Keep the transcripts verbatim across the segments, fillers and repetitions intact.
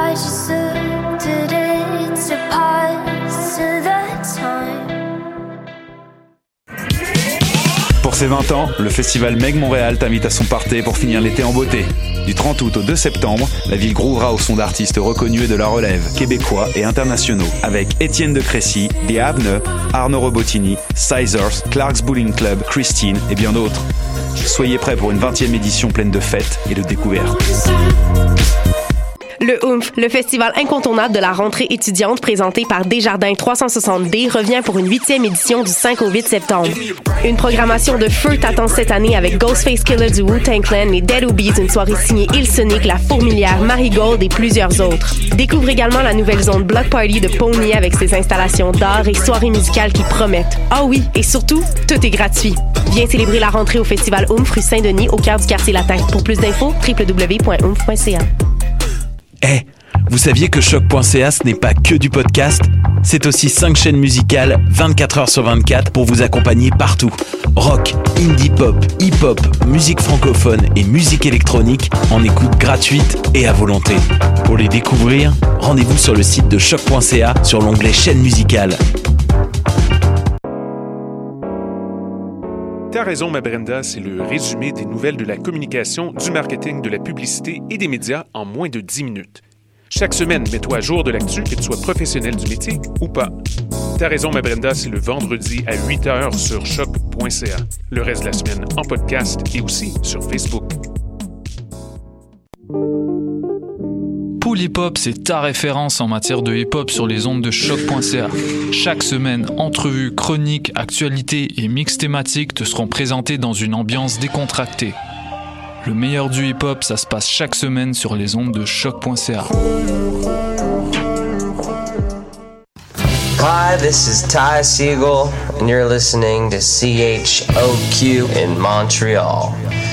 I just looked at it to pass the time. Pour ses vingt ans, le festival Meg Montréal t'invite à son party pour finir l'été en beauté. Du trente août au deux septembre, la ville groovera au son d'artistes reconnus et de la relève, québécois et internationaux, avec Étienne de Crécy, The Avne, Arnaud Robotini, Sizers, Clark's Bowling Club, Christine et bien d'autres. Soyez prêts pour une vingtième édition pleine de fêtes et de découvertes. Le Oomph, le festival incontournable de la rentrée étudiante présenté par Desjardins trois cent soixante D, revient pour une huitième édition du cinq au huit septembre. Une programmation de feu t'attend cette année avec Ghostface Killah du Wu-Tang Clan, les Dead Obies, une soirée signée Ilsonic, La Fourmilière, Marigold et plusieurs autres. Découvre également la nouvelle zone Block Party de Pony avec ses installations d'art et soirées musicales qui promettent. Ah oui, et surtout, tout est gratuit. Viens célébrer la rentrée au festival Oomph rue Saint-Denis au cœur du quartier latin. Pour plus d'infos, w w w point oomph point c a. Eh, hey, vous saviez que choc point c a ce n'est pas que du podcast? C'est aussi cinq chaînes musicales vingt-quatre heures sur vingt-quatre pour vous accompagner partout. Rock, indie pop, hip-hop, musique francophone et musique électronique en écoute gratuite et à volonté. Pour les découvrir, rendez-vous sur le site de choc point c a sur l'onglet chaîne musicale. T'as raison, ma Brenda, c'est le résumé des nouvelles de la communication, du marketing, de la publicité et des médias en moins de dix minutes. Chaque semaine, mets-toi à jour de l'actu, que tu sois professionnel du métier ou pas. T'as raison, ma Brenda, c'est le vendredi à huit heures sur choc point c a. Le reste de la semaine en podcast et aussi sur Facebook. Pool Hip Hop, c'est ta référence en matière de hip-hop sur les ondes de choc point c a. Chaque semaine, entrevues, chroniques, actualités et mix thématiques te seront présentés dans une ambiance décontractée. Le meilleur du hip-hop, ça se passe chaque semaine sur les ondes de choc point c a. Hi, this is Ty Siegel, and you're listening to C H O Q in Montreal.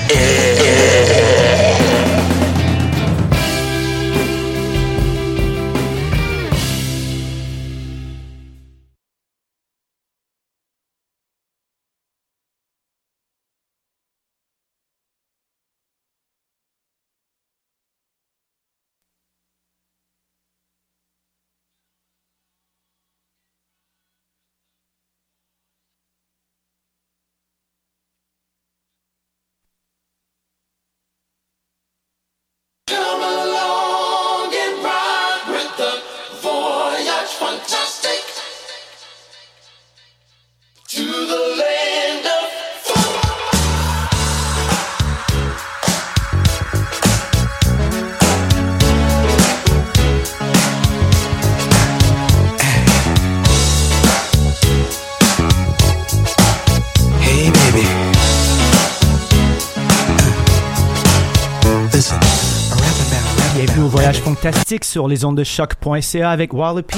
Bienvenue au voyage fantastique sur les ondes de choc point c a avec Wallopy.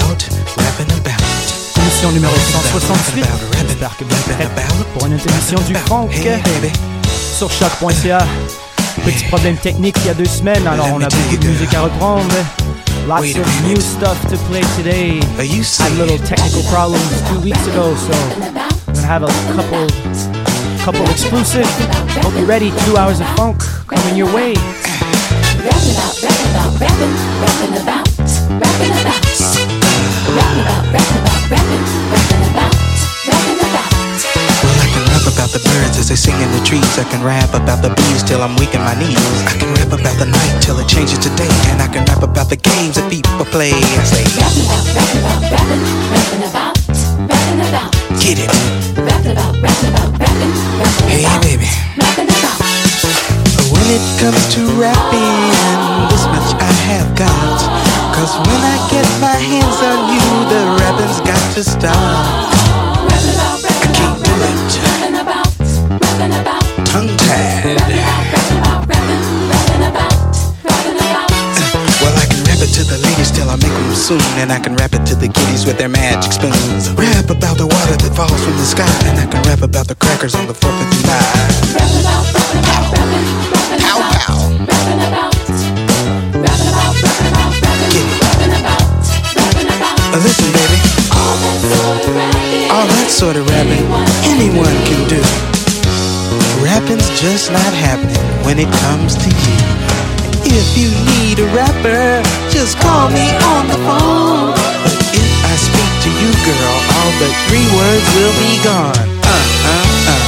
Émission numéro cent soixante-huit. J'espère que vous êtes prêts pour une autre émission du funk sur choc point c a. Petit problème technique il y a deux semaines, alors on a beaucoup de musique à reprendre. Lots of new stuff to play today. Had little technical problems two weeks ago, so we're gonna have a couple, couple exclusive. Hope you're ready. Two hours of funk coming your way. Rapping about, rapping about, rapping, rapping about, rapping about, rapping about, rapping about, rapping, rapping about, rapping about. Well, I can rap about the birds as they sing in the trees. I can rap about the bees till I'm weak in my knees. I can rap about the night till it changes to day. And I can rap about the games that people play. I say, rapping about, rapping about, rapping, rapping about, rapping about. Get it. Rapping about, rapping about, rapping, rapping hey, about, baby. rapping about. When it comes to rapping, this much I have got. Cause when I get my hands on you, the rapping's got to stop. Rapping about, rapping I can't about, do it. rapping about, rapping about. Tongue-tied. Rapping about, rapping about, rapping, rapping about, rapping about. Well, I can rap it to the ladies till I make them soon. And I can rap it to the kiddies with their magic spoons. Rap about the water that falls from the sky. And I can rap about the crackers on the fourth of July. Rapping about, rapping about, rapping, rapping Pow, about. pow. Rapping about, rapping about, rapping about, rapping, Get it. rapping about, rapping about. Uh, Listen, baby, All that sort of rapping, all that sort of rapping anyone can do. Rapping's just not happening when it comes to you. If you need a rapper, just just call me on the phone. But if I speak to you, girl, all but three words will be gone. Uh, uh, uh.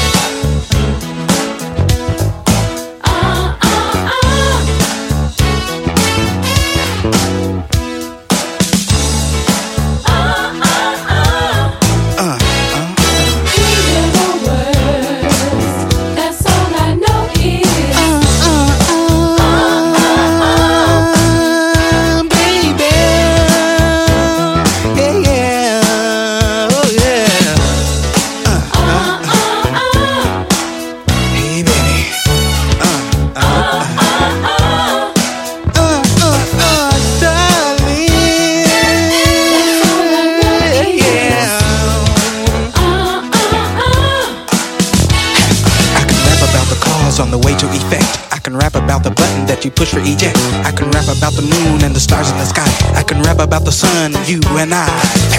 You push for eject. I can rap about the moon and the stars in the sky. I can rap about the sun, you and I.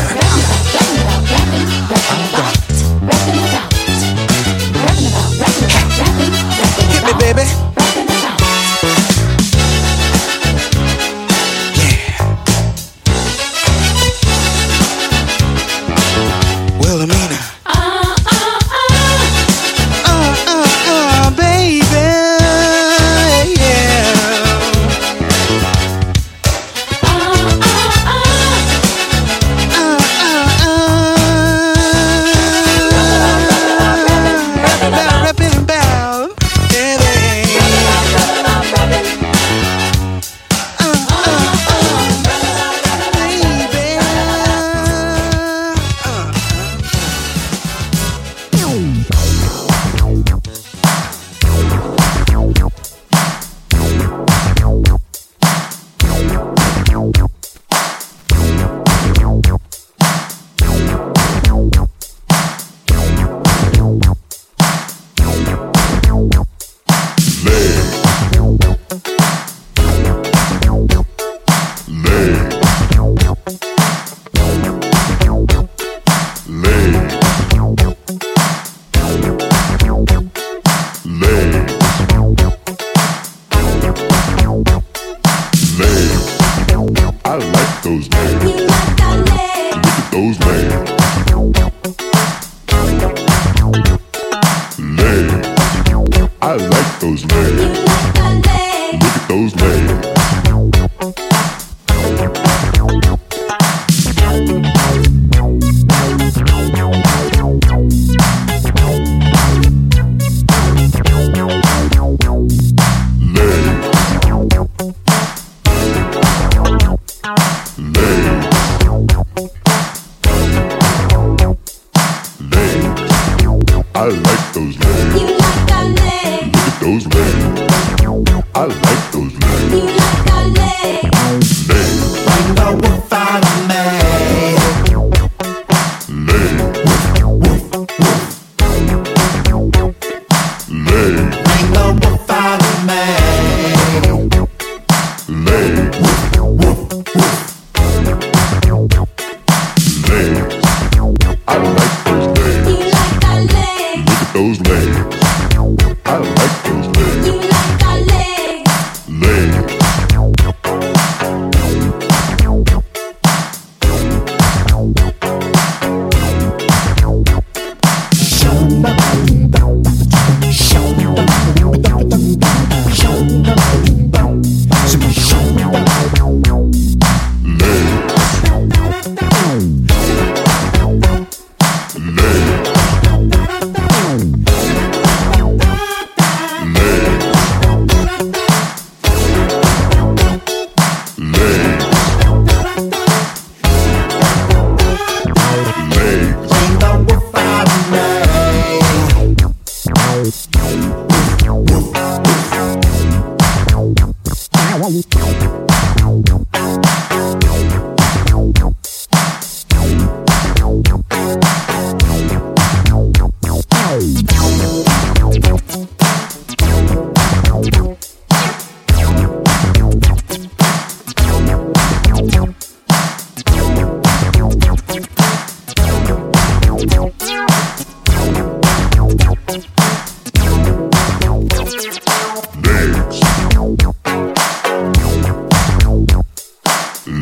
Hit me, baby. Yeah. Wilhelmina.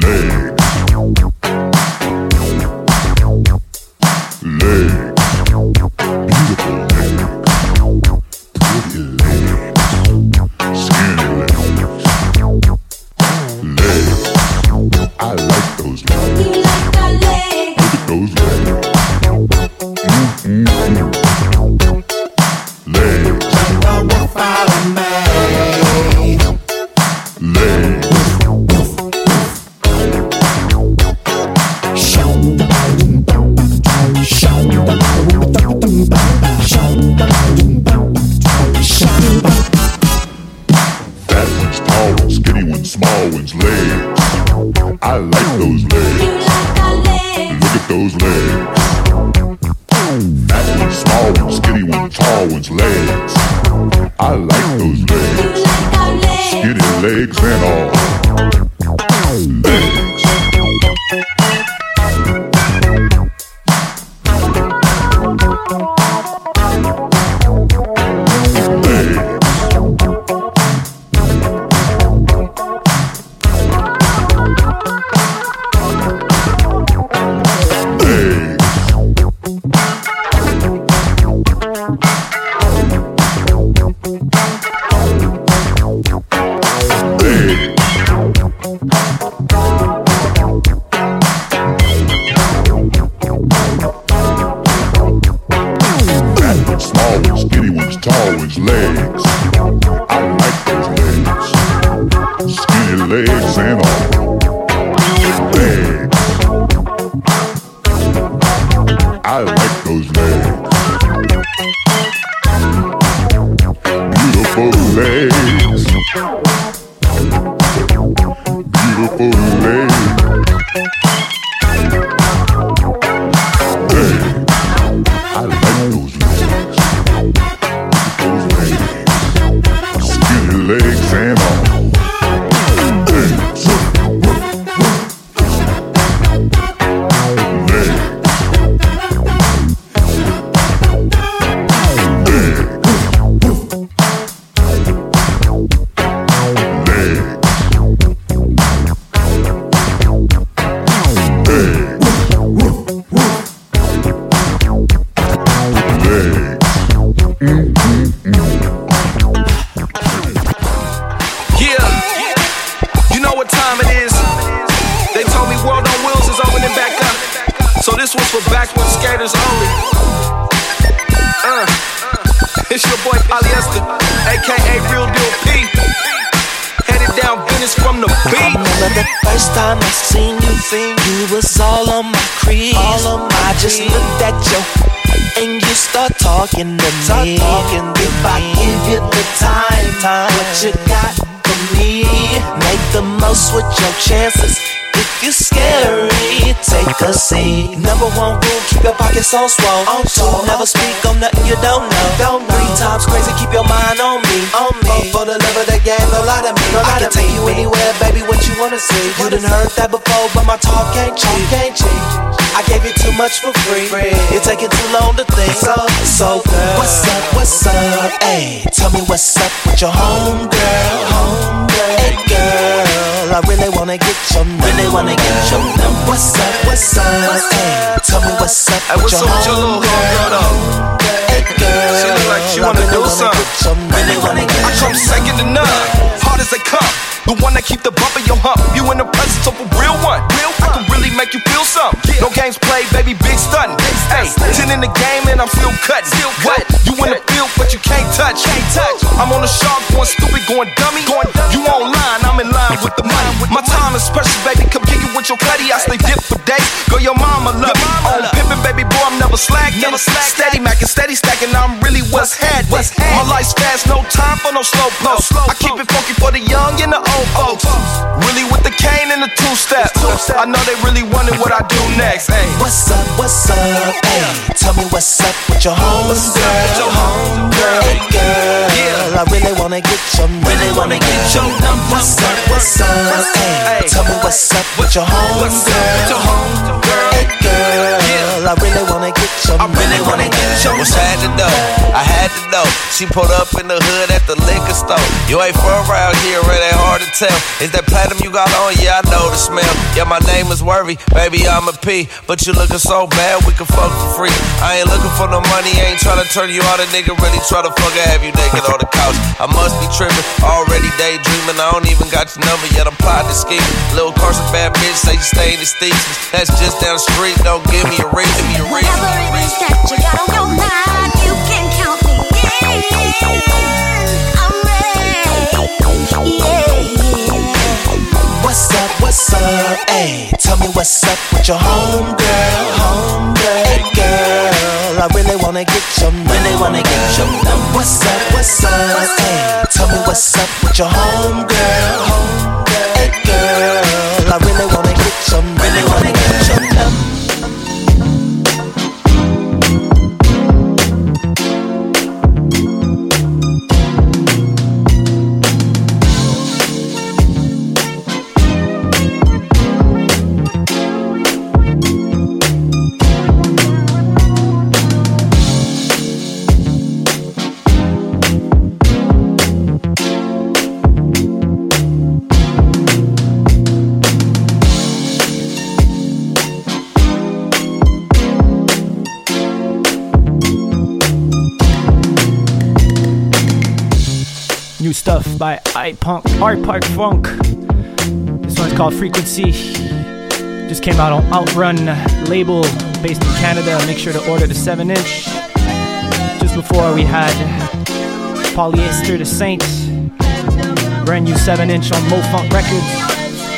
So swole, on two, never speak on nothing you don't know. Don't know. Three times crazy, keep your mind on me, on me. For the love of the game, no lie to me. No I can take me. You anywhere, baby. What you wanna see? You done heard that before, but my talk ain't cheap. Ain't cheap. I gave you too much for free. free. You're taking too long to think. So, so girl, what's up? What's up? Hey, tell me what's up with your home girl. Home girl. Hey girl, I really wanna get your number. Really wanna get your number. What's up? What's up? Hey, tell me what's up hey, with what's your up home with your little girl. girl though? Hey girl, she look like she wanna do something. Really wanna get I come second to none, hard as they come. The one that keep the bump in your hump. You in the presence of a real one. Real I can really make you feel something. No games played, baby, big stunting. Hey, ten in the game and I'm still cutting. What? You in the field, but you can't touch. I'm on the shark, going stupid, going dummy. You online, I'm in line with the money. My time is precious, baby. Come kick it with your cutty. I stay dip for days. Girl, your mama love me. On pimpin', baby boy, I'm never slacking. Steady mackin', steady stacking. I'm really what's happening. My life's fast, no time for no slow flow. I keep it funky for the young and the old folks. Really with the cane and the two-step. I know they really wondering what I do next. Ay. What's up, what's up, hey? Tell me what's up with your home girl. Your home girl. Hey girl, yeah. I really wanna get your number. Really wanna get your number. What's up, what's up, hey? Tell me what's up with your home girl. Your home girl. Hey girl, I really wanna get your number. I really wanna get your. What's happening though? I had to know. She pulled up in the hood at the liquor store. You ain't from around here, it ain't hard to tell. Is that platinum you got on? Yeah, I know the smell. Yeah, my name is Worthy, baby, I'm a P. But you looking so bad, we can fuck for free. I ain't looking for no money, ain't tryna turn you out. A nigga really try to fuck and have you naked on the couch. I must be tripping, already daydreaming. I don't even got your number yet, I'm plotting to scheme. Little Carson bad bitch, say you stay in the Steeps. That's just down the street, don't give me a reason, give me a reason. Whatever it is that you got on your mind, you can count me in. I'm ready, yeah. What's up, what's up, ayy? Tell me what's up with your homegirl, homegirl, hey girl. I really wanna get your number, really wanna get your number. What's up, what's up, ayy? Tell me what's up with your homegirl, homegirl, hey girl. I really wanna get your number, really wanna get your number. New stuff by iPunk, Art Park Funk. This one's called Frequency. Just came out on Outrun label based in Canada. Make sure to order the seven inch. Just before we had Polyester the Saint. Brand new seven inch on Mo Funk Records.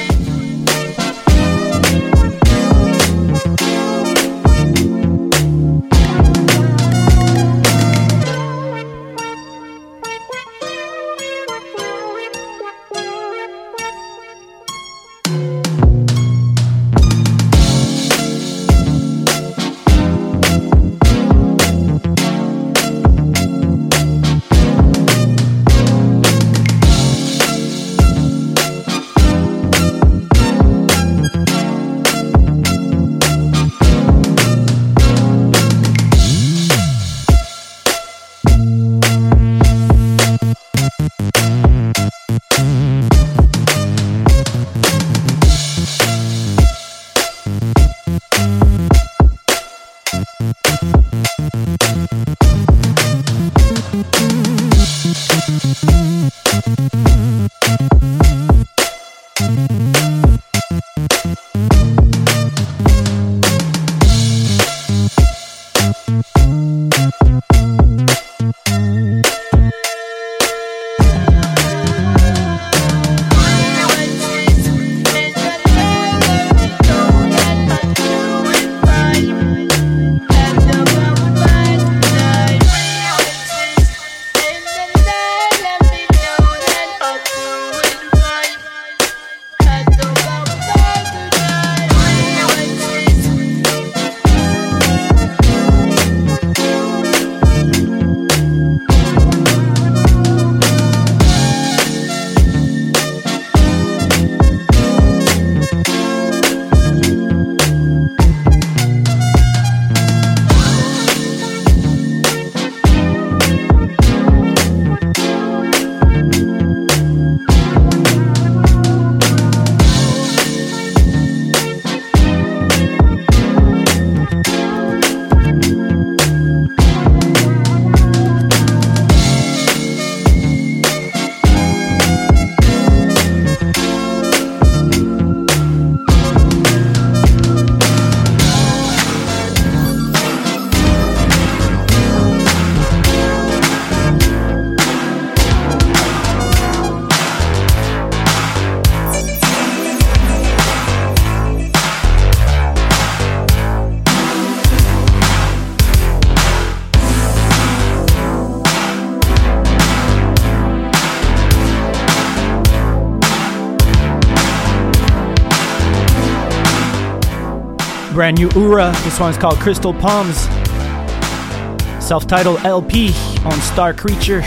Brand new Ura. This one's called Crystal Palms. Self-titled L P on Star Creature.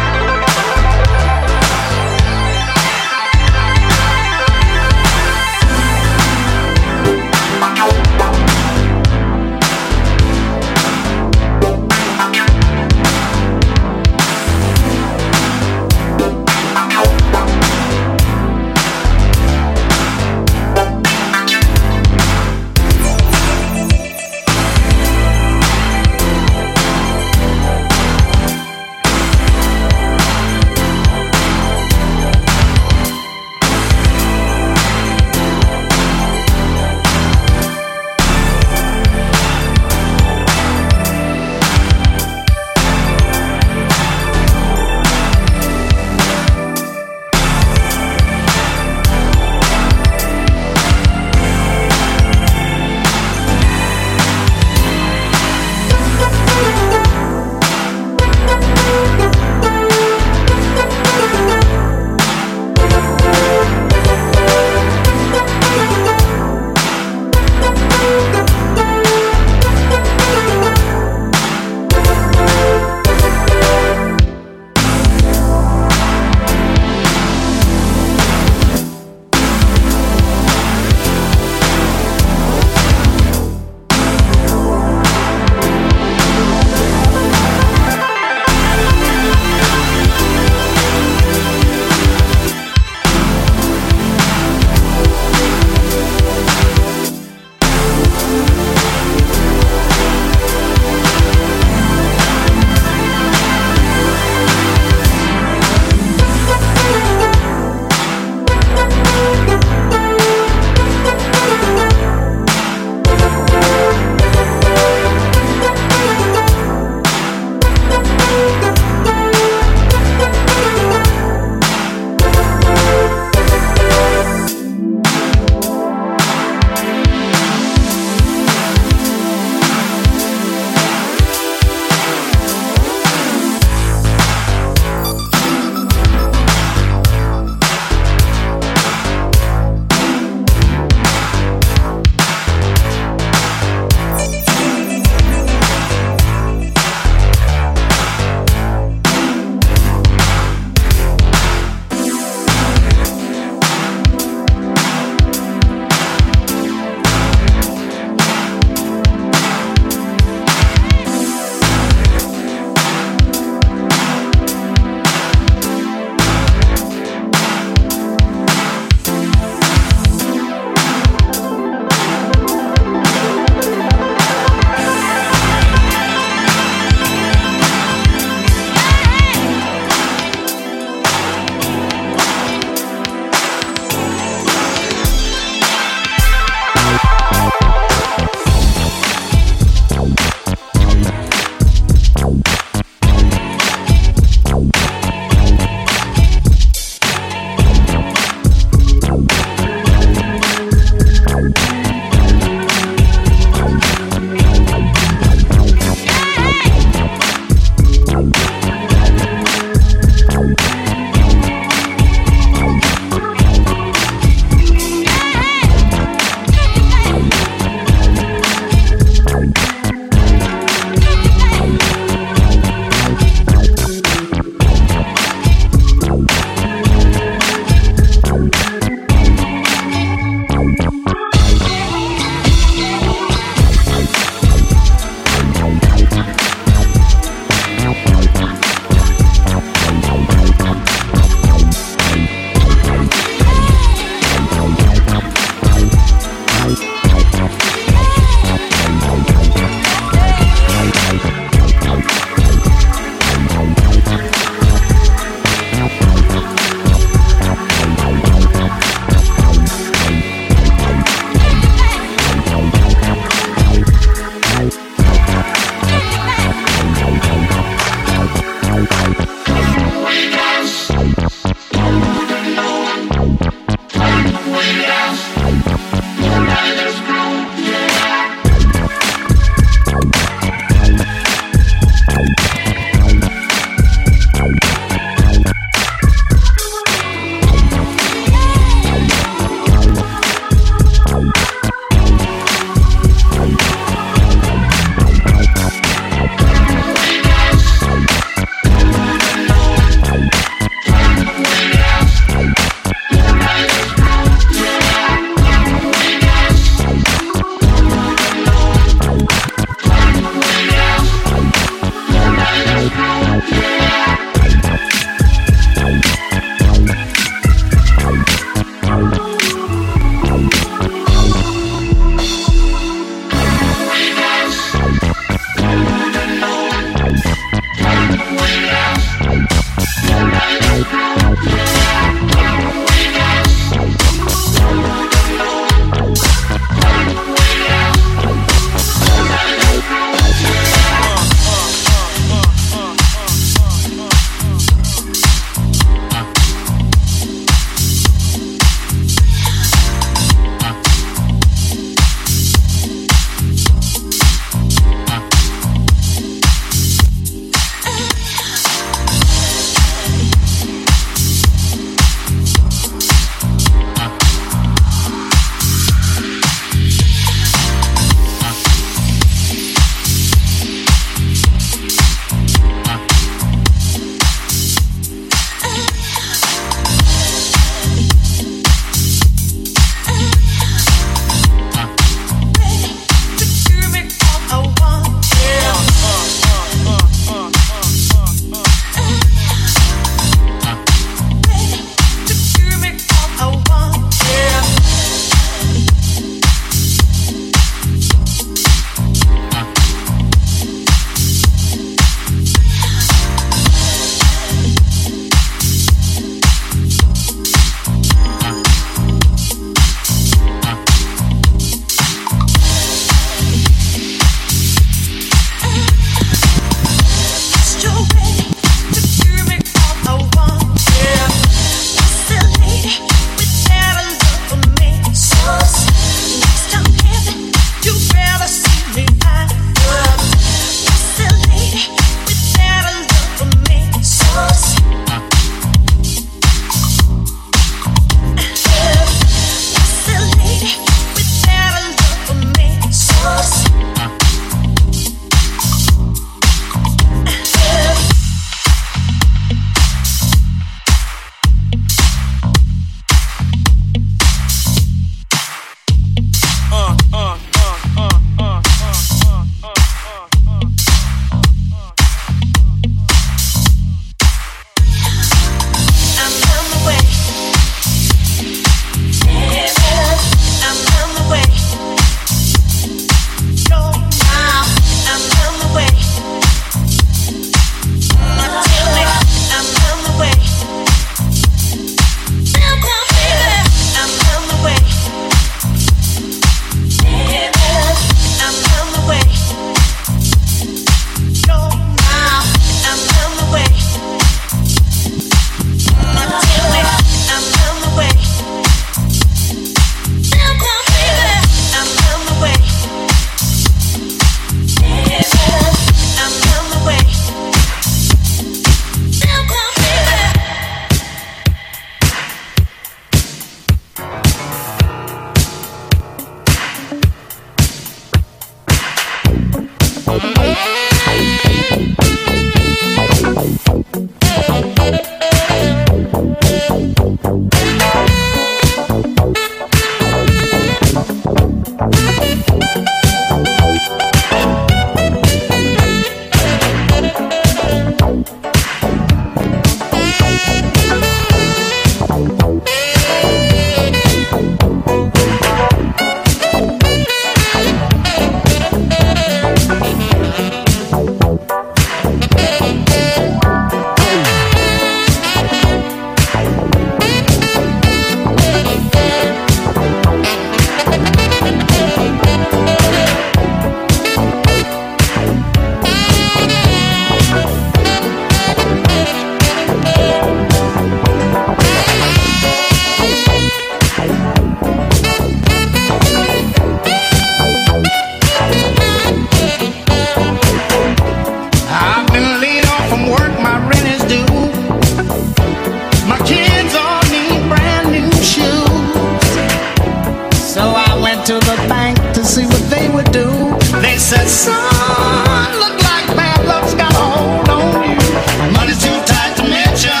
to the bank to see what they would do. They said, son, look like bad luck's got a hold on you. Money's too tight to mention.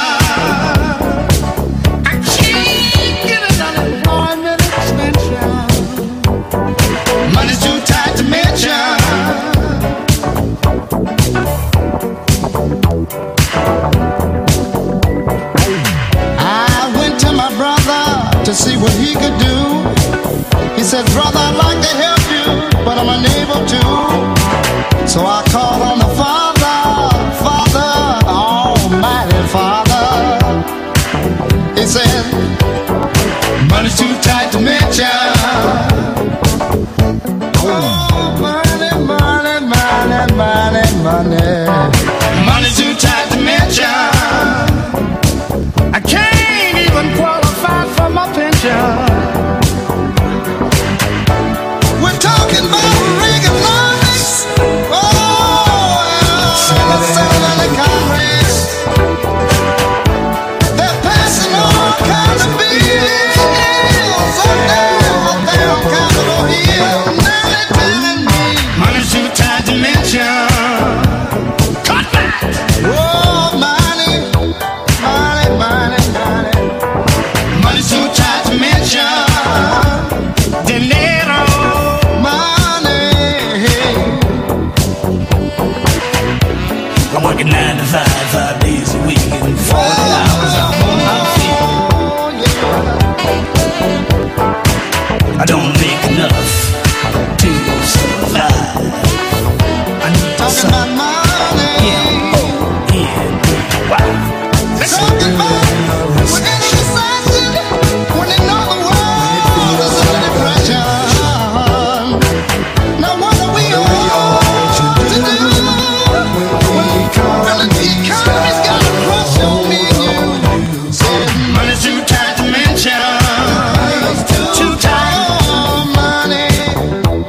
I can't get an unemployment extension. Money's too tight to mention. I went to my brother to see what he could do. He said, brother, I'd like to help you, but I'm unable to. So I called on the Father, Father, Almighty Father. He said, money's too tight to mention. Oh, money, money, money, money, money. Money's too tight to mention. I can't even qualify for my pension. We're talking about Reaganomics. Oh, yeah. Senate and Congress. They're passing all kinds of bills up there, up there on Capitol Hill. Now they're telling me money's too tight to mention. Cut back! Oh, money, money, money, money. Money's too tight to mention. Dinero. I'm working nine to five, five days a week, and forty hours I'm on my feet. I don't make enough to survive. I need talking about money. Yeah, oh, yeah, wow. They're talking about we're in a recession when they know the world is under depression. Now what are we all to do? Economy's got a crush on me and you. Said money's too tight to mention. Too tight. Oh, money,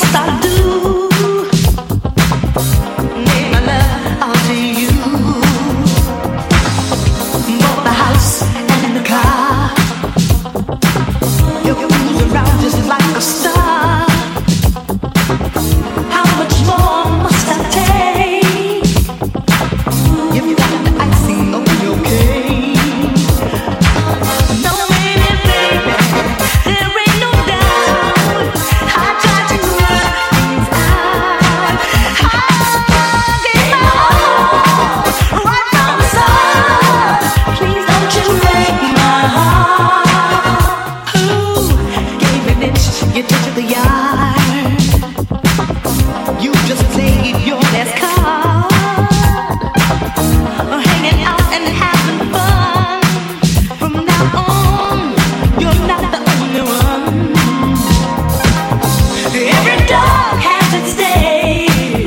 must I do? Make my love out to you. Both the house and the car. You cruise around just like a star. How much more must I take? You've got the icing on your cake. No, baby, baby, there ain't no doubt. I tried to work things out. I gave my all right from the start. Please don't you break my heart. Who gave an inch, you took the yard. You just played your last card. Hanging out and having fun. From now on, you're not the only one. Every dog has its day.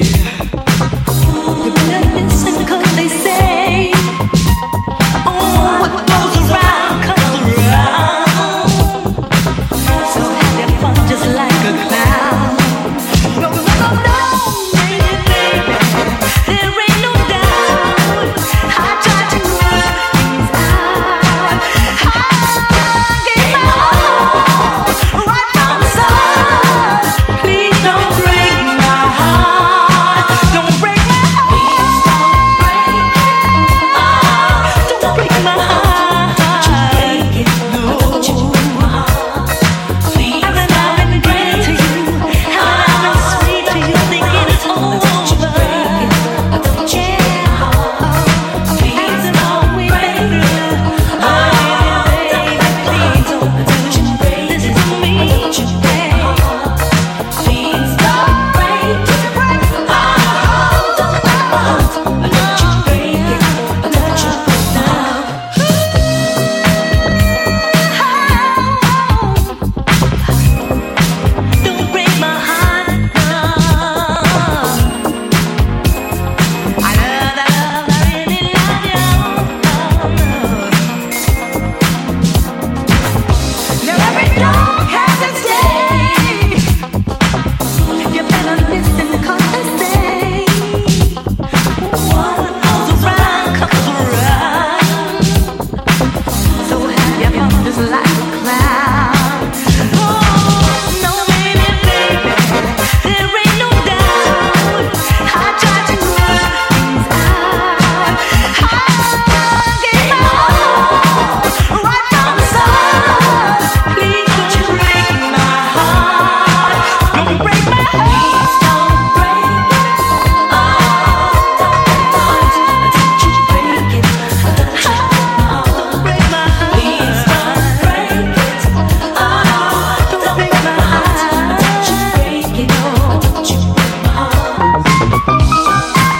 You better listen 'cause they say, oh, what goes around comes around. So have your fun just like a clown. No, no, no, no, baby, baby, there ain't no doubt. I tried to work things out. I gave my all right from the start. Please don't break my heart. Don't break my heart. Don't break my heart. No. I've been loving good to you. I've been sweet to you, thinking it's over. Don't break my heart. I love, I love, I really love you. Now every dog has its day. You better listen 'cause they say, what goes around comes around. So have your fun just like a clown. Oh, no, baby, baby, there ain't no doubt. I tried to work things out. I gave my all right from the start. Please don't you break my heart. Don't break my heart. Don't break it. Oh, don't you break it. Don't break my heart. Please don't break it. Oh, don't break my heart. Don't you break it. Oh, don't you break my heart.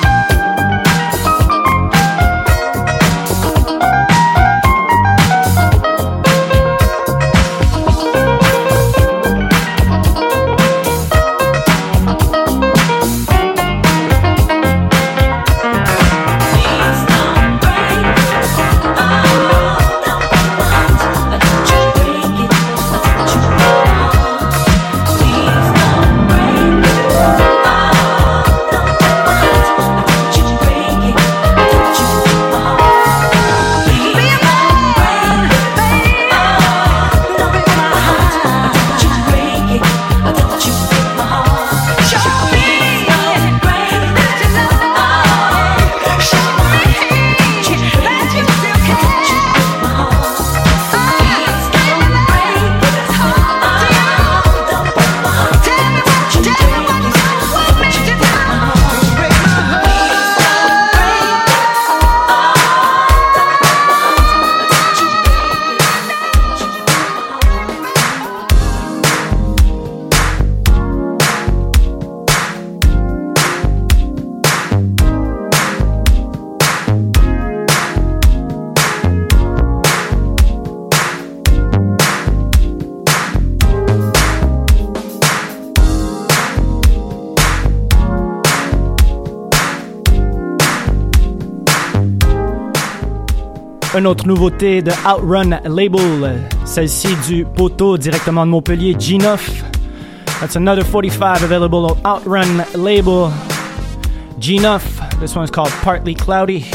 Une autre nouveauté de Outrun Label, celle-ci du poteau directement de Montpellier, G neuf. That's another forty-five available on Outrun label. G-Nuff. This one's called Partly Cloudy.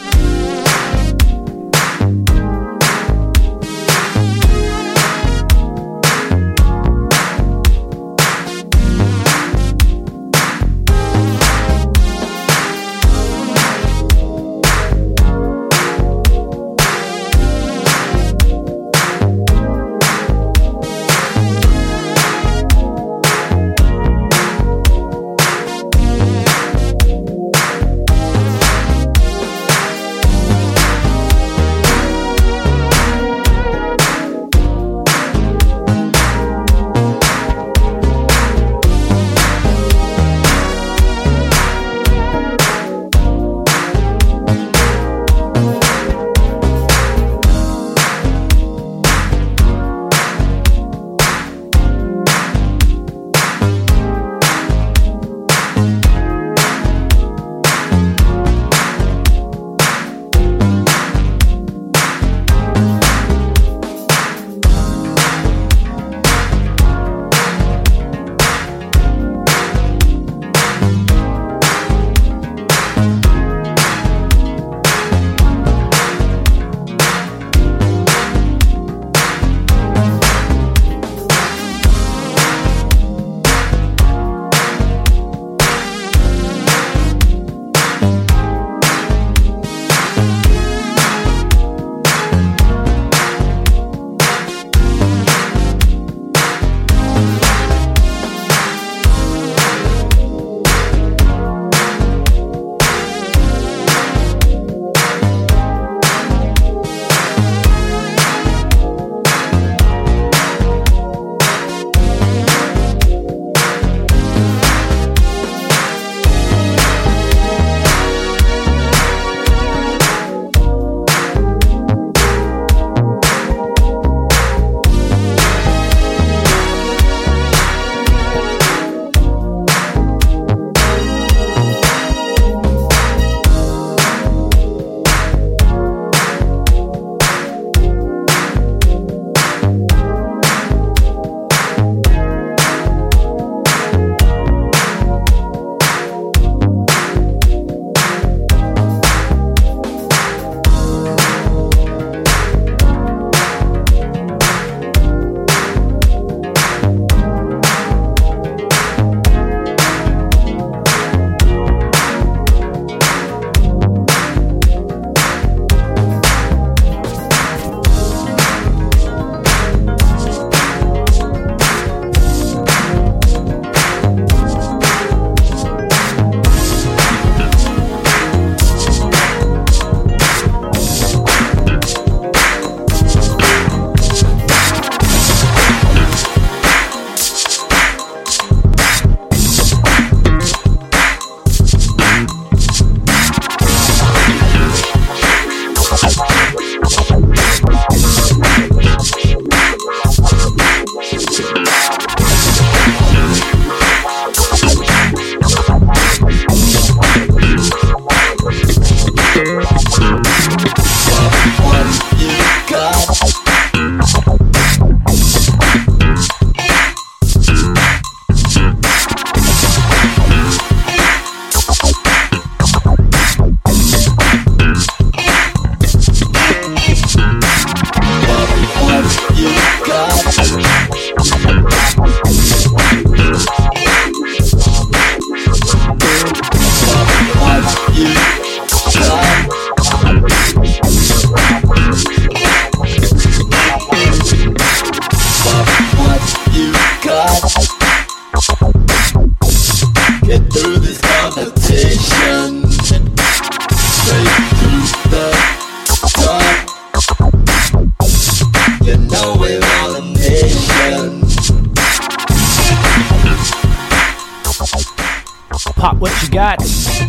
Pop What You Got,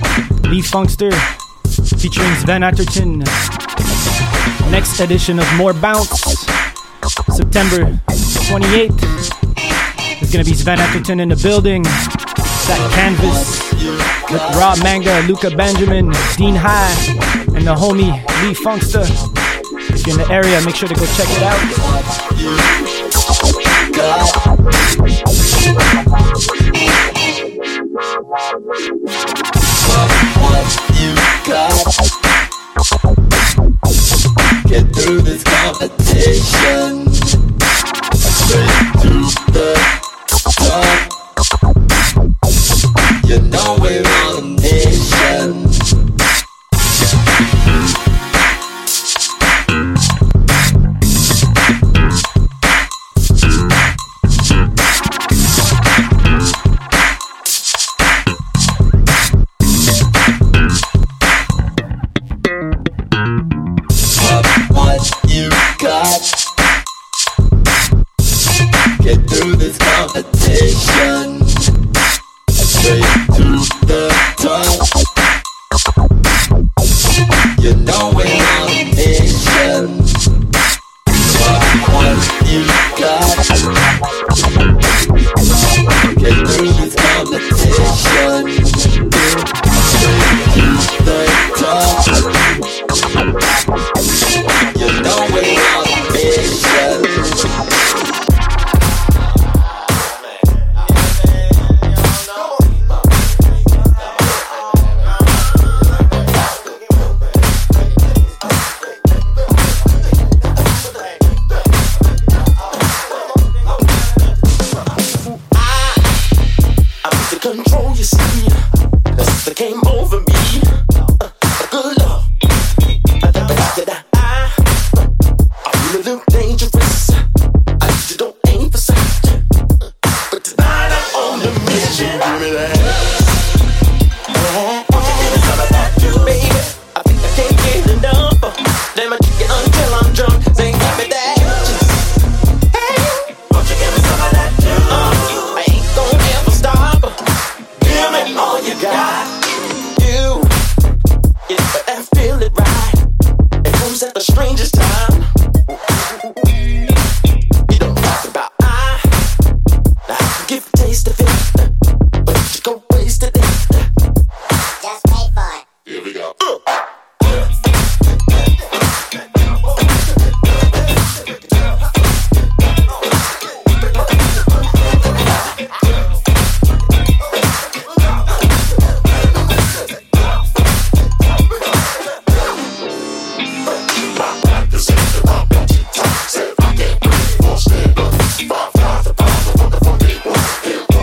Lee Funkster, featuring Sven Atherton. Next edition of More Bounce, September twenty-eighth. There's gonna be Sven Atherton in the building. That Canvas with Rob Manga, Luca Benjamin, Dean High, and the homie Lee Funkster. If you're in the area, make sure to go check it out. Get through this competition. Straight to the top. You know we're on a mission. Get through this competition. Straight to the top. You know we're on a mission. What you got? Get through this competition. Straight to the top. You know we're on a mission. Control, you see, cause it came over me. Uh, good love. I, I, I, I feel a little dangerous. I you don't aim for sight. But tonight I'm on the mission. Give me that. Yeah. Won't you give me some of that too, baby? I think I can't get enough. Damn, I kick it until I'm drunk. Say, give me that. Hey, won't you give me some of that too? Uh, I ain't gonna ever stop. Give me all you got. You, yeah, but I feel it right. It comes at the strangest time. You don't talk about I. Now I can give a taste of it, but you go waste it. Just pay for it. Here we go. Uh.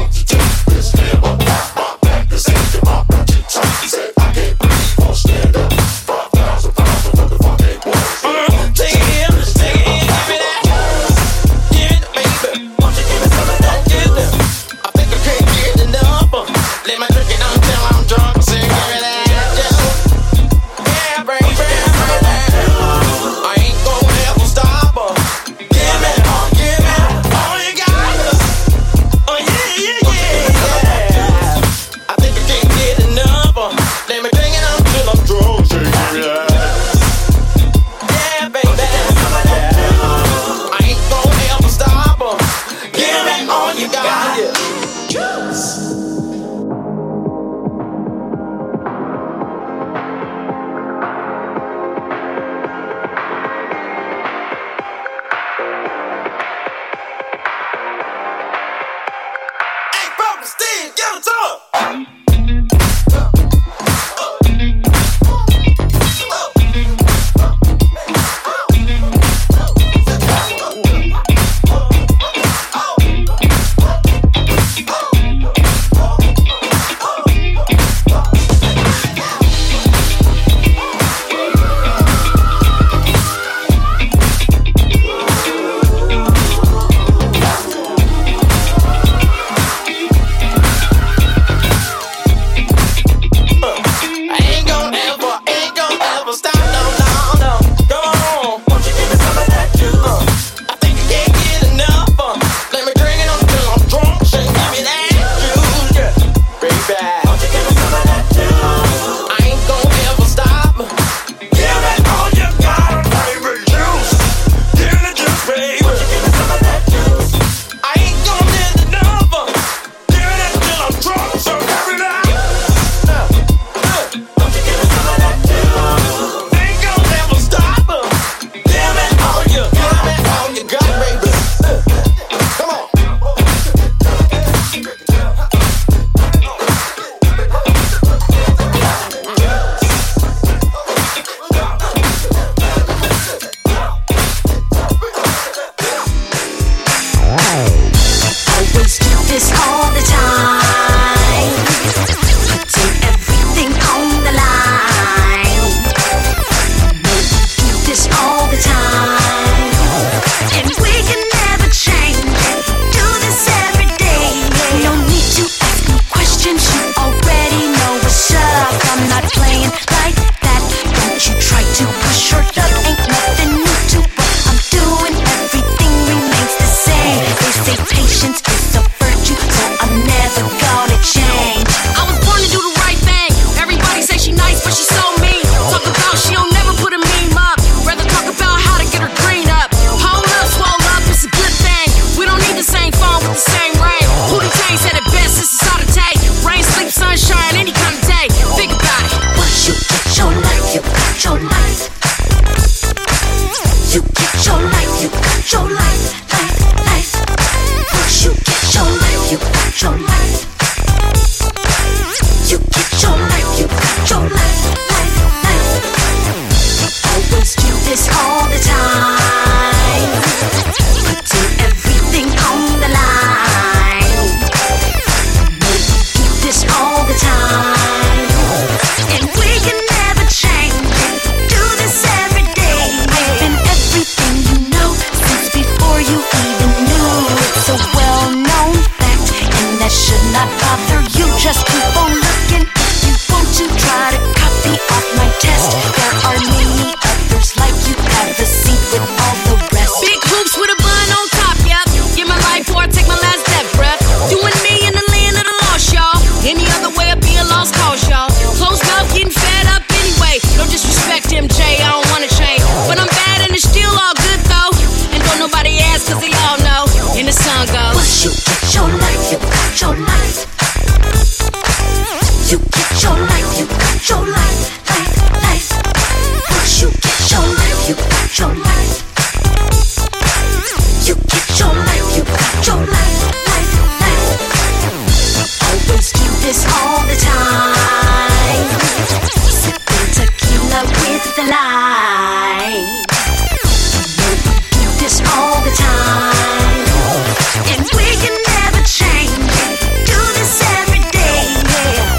Stand up. Just keep on looking. You want to try to copy off my test. There are many others like you. Have a seat with all the rest. Big hoops with a bun on top, yep. Give my life before I take my last death breath. Doing me in the land of the lost, y'all. Any other way I'd be a lost cause, y'all. Closed mouth, getting fed up anyway. No disrespect, M J, I don't wanna change. But I'm bad and it's still all good though. And don't nobody ask cause they all know. And the sun goes. Once you get your life, you got your life. You get your life, you got your life, life, life. Once you get your life, you got your life. You get your life, you got your life, life, life. Always do this all the time. Sipping tequila with the light. No, we do this all the time. And we can never change it. Do this every day, yeah.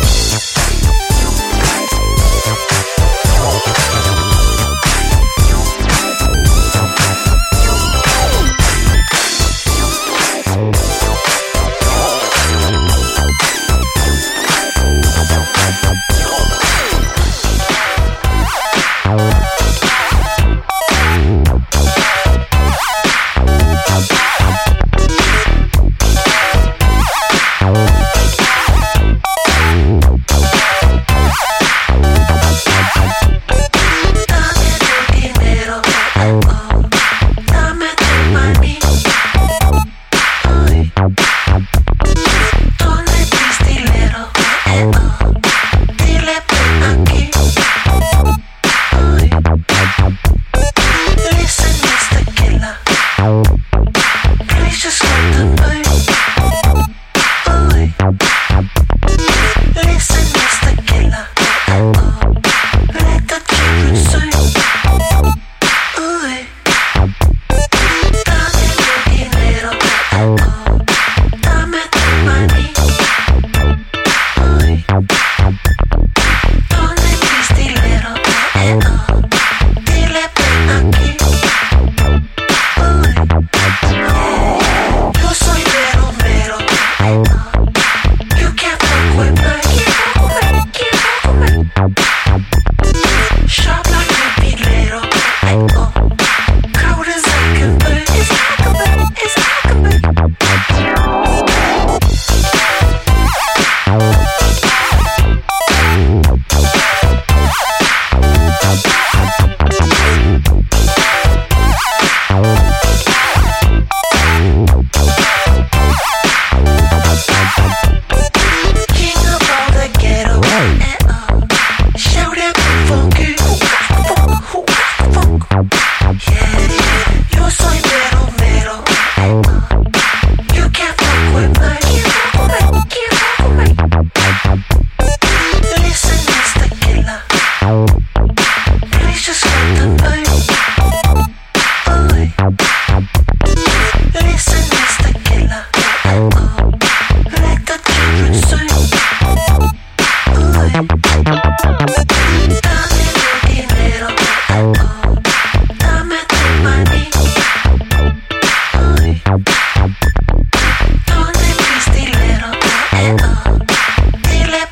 Dile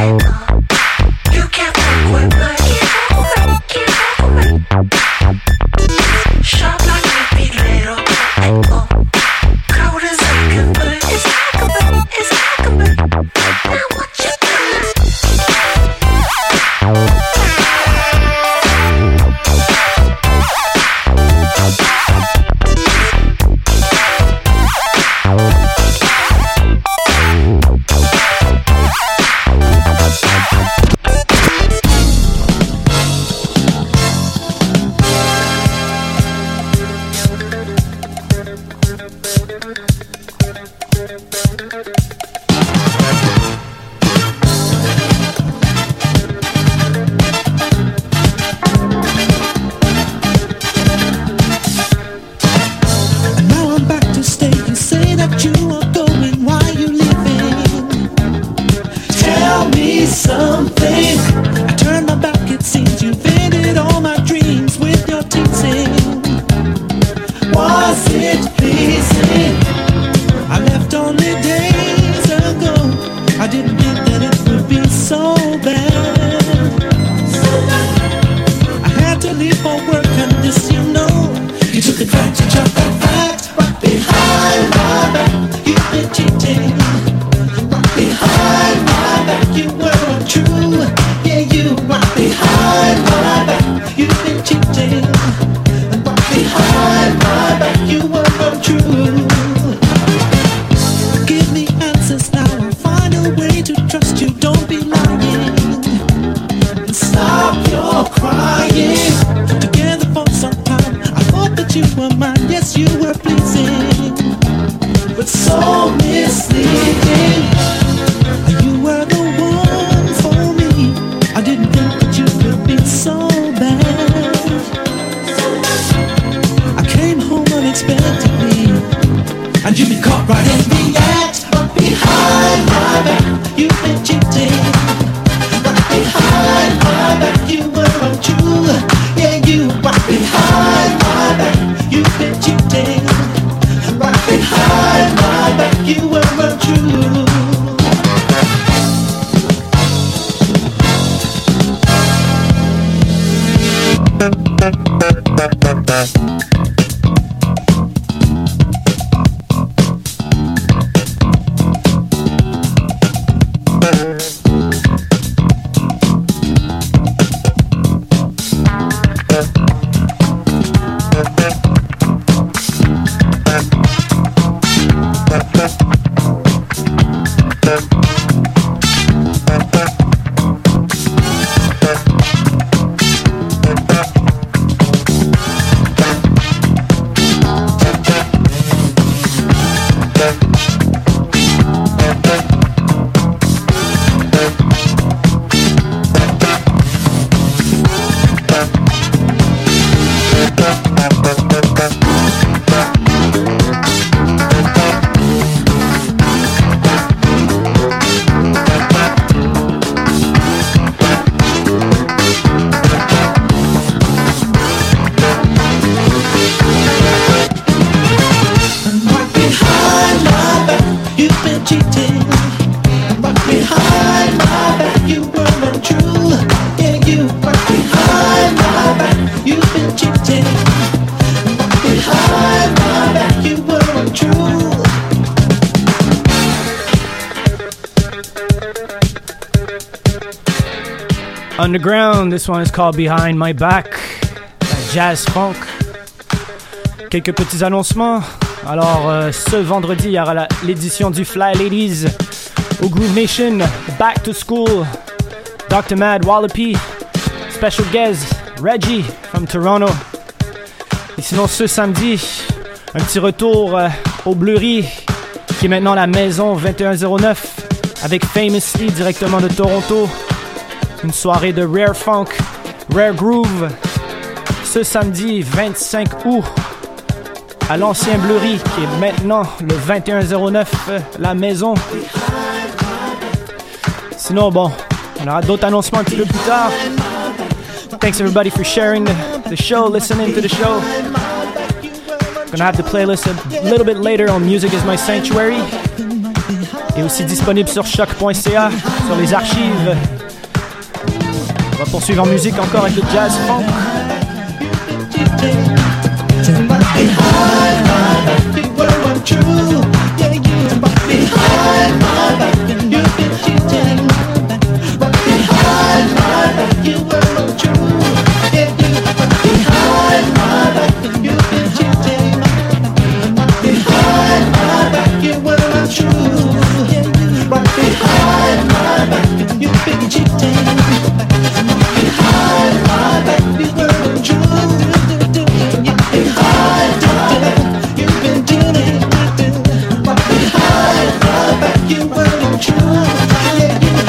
Underground, this one is called Behind My Back, jazz funk. Quelques petits annoncements. Alors, euh, ce vendredi, il y aura la, l'édition du Fly Ladies au Groove Nation, Back to School, doctor Mad Wallopy, special guest Reggie from Toronto. Et sinon, ce samedi, un petit retour euh, au Bleury, qui est maintenant la maison vingt et un zéro neuf, avec Famously directement de Toronto. Une soirée de Rare Funk, Rare Groove, ce samedi vingt-cinq août, à l'ancien Bleury, qui est maintenant le vingt et un zéro neuf, la maison. Sinon, bon, on aura d'autres annoncements un petit peu plus tard. Thanks everybody for sharing the, the show, listening to the show. Gonna have the playlist a little bit later on Music is My Sanctuary. est aussi disponible sur choc point c a, sur les archives. On va poursuivre en musique encore avec le jazz funk. You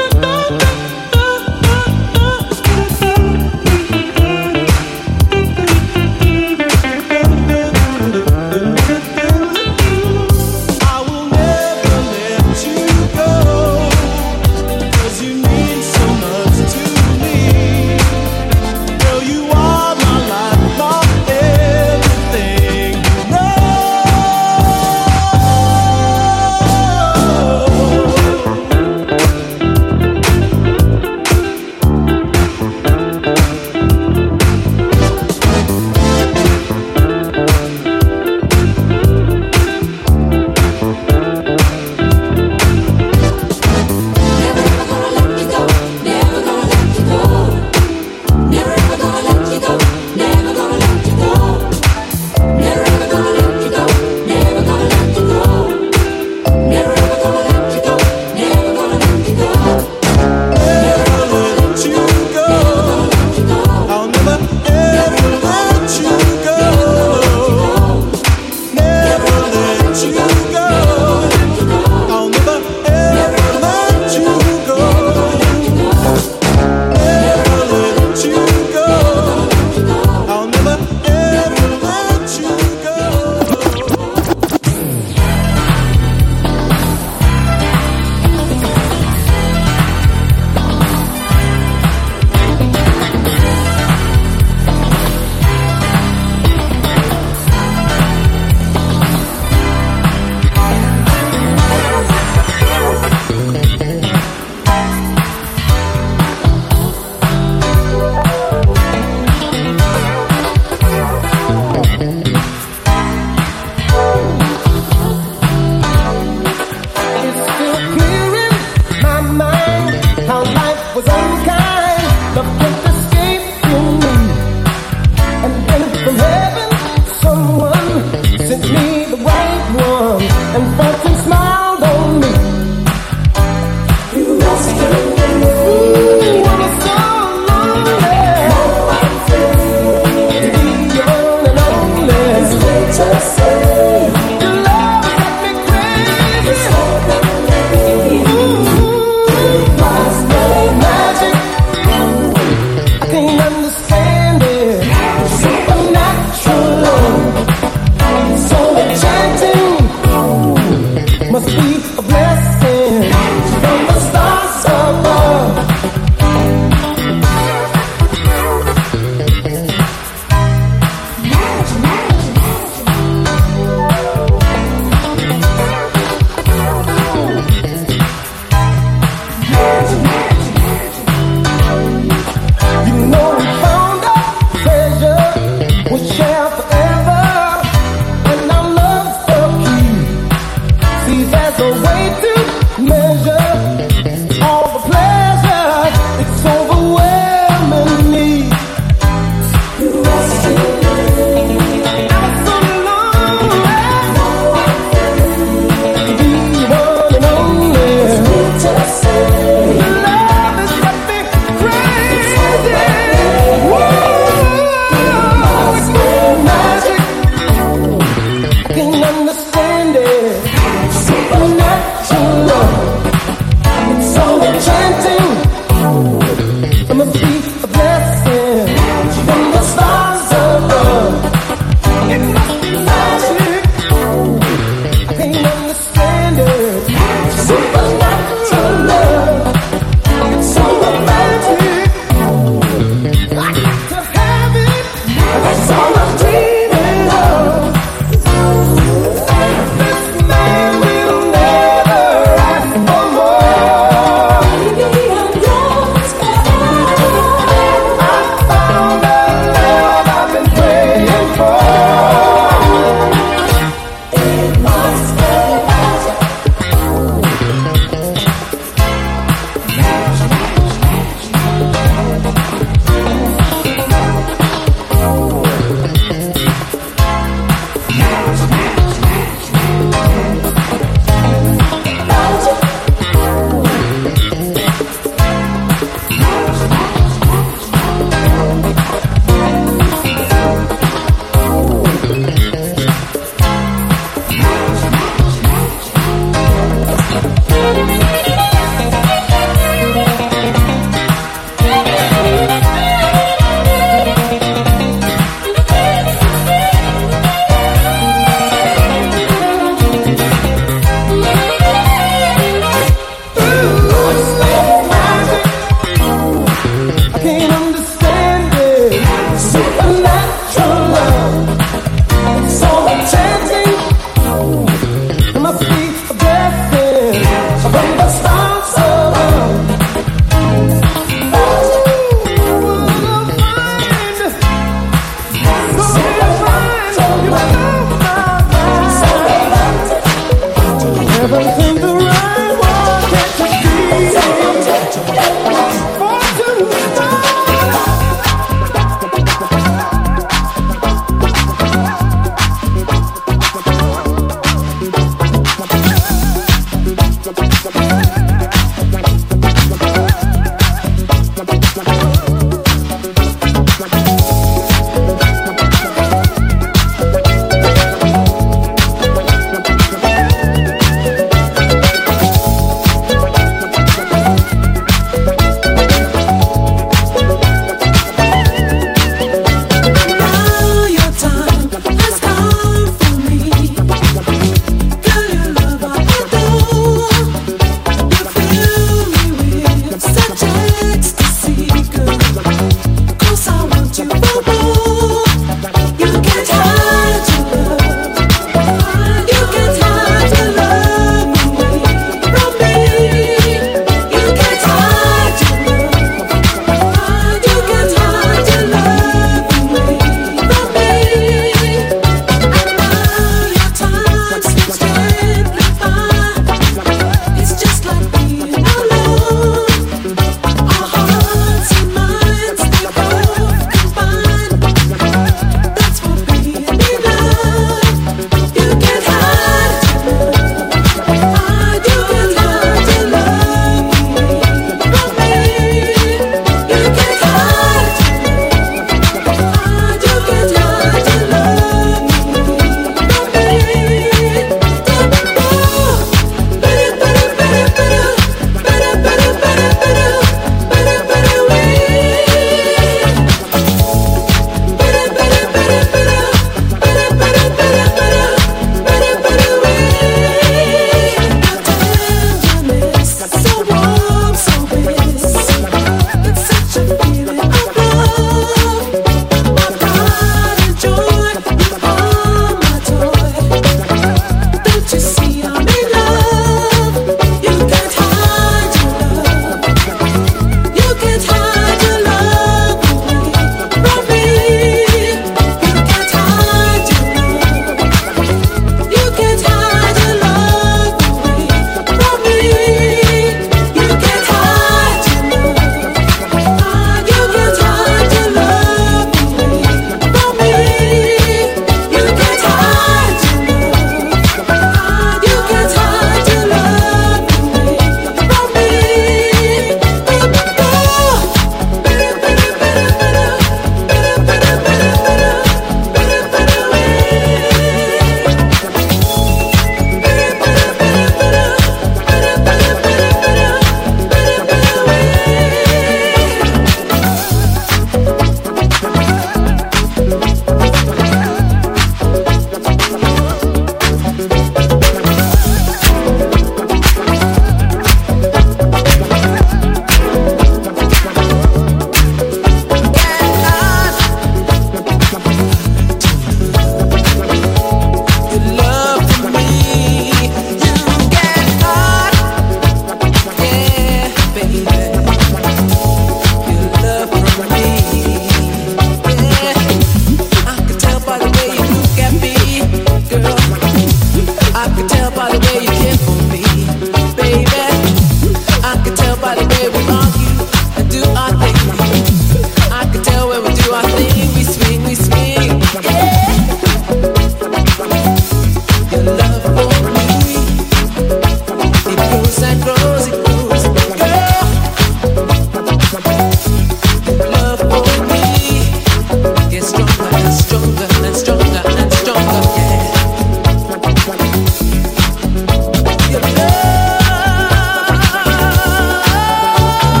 Your love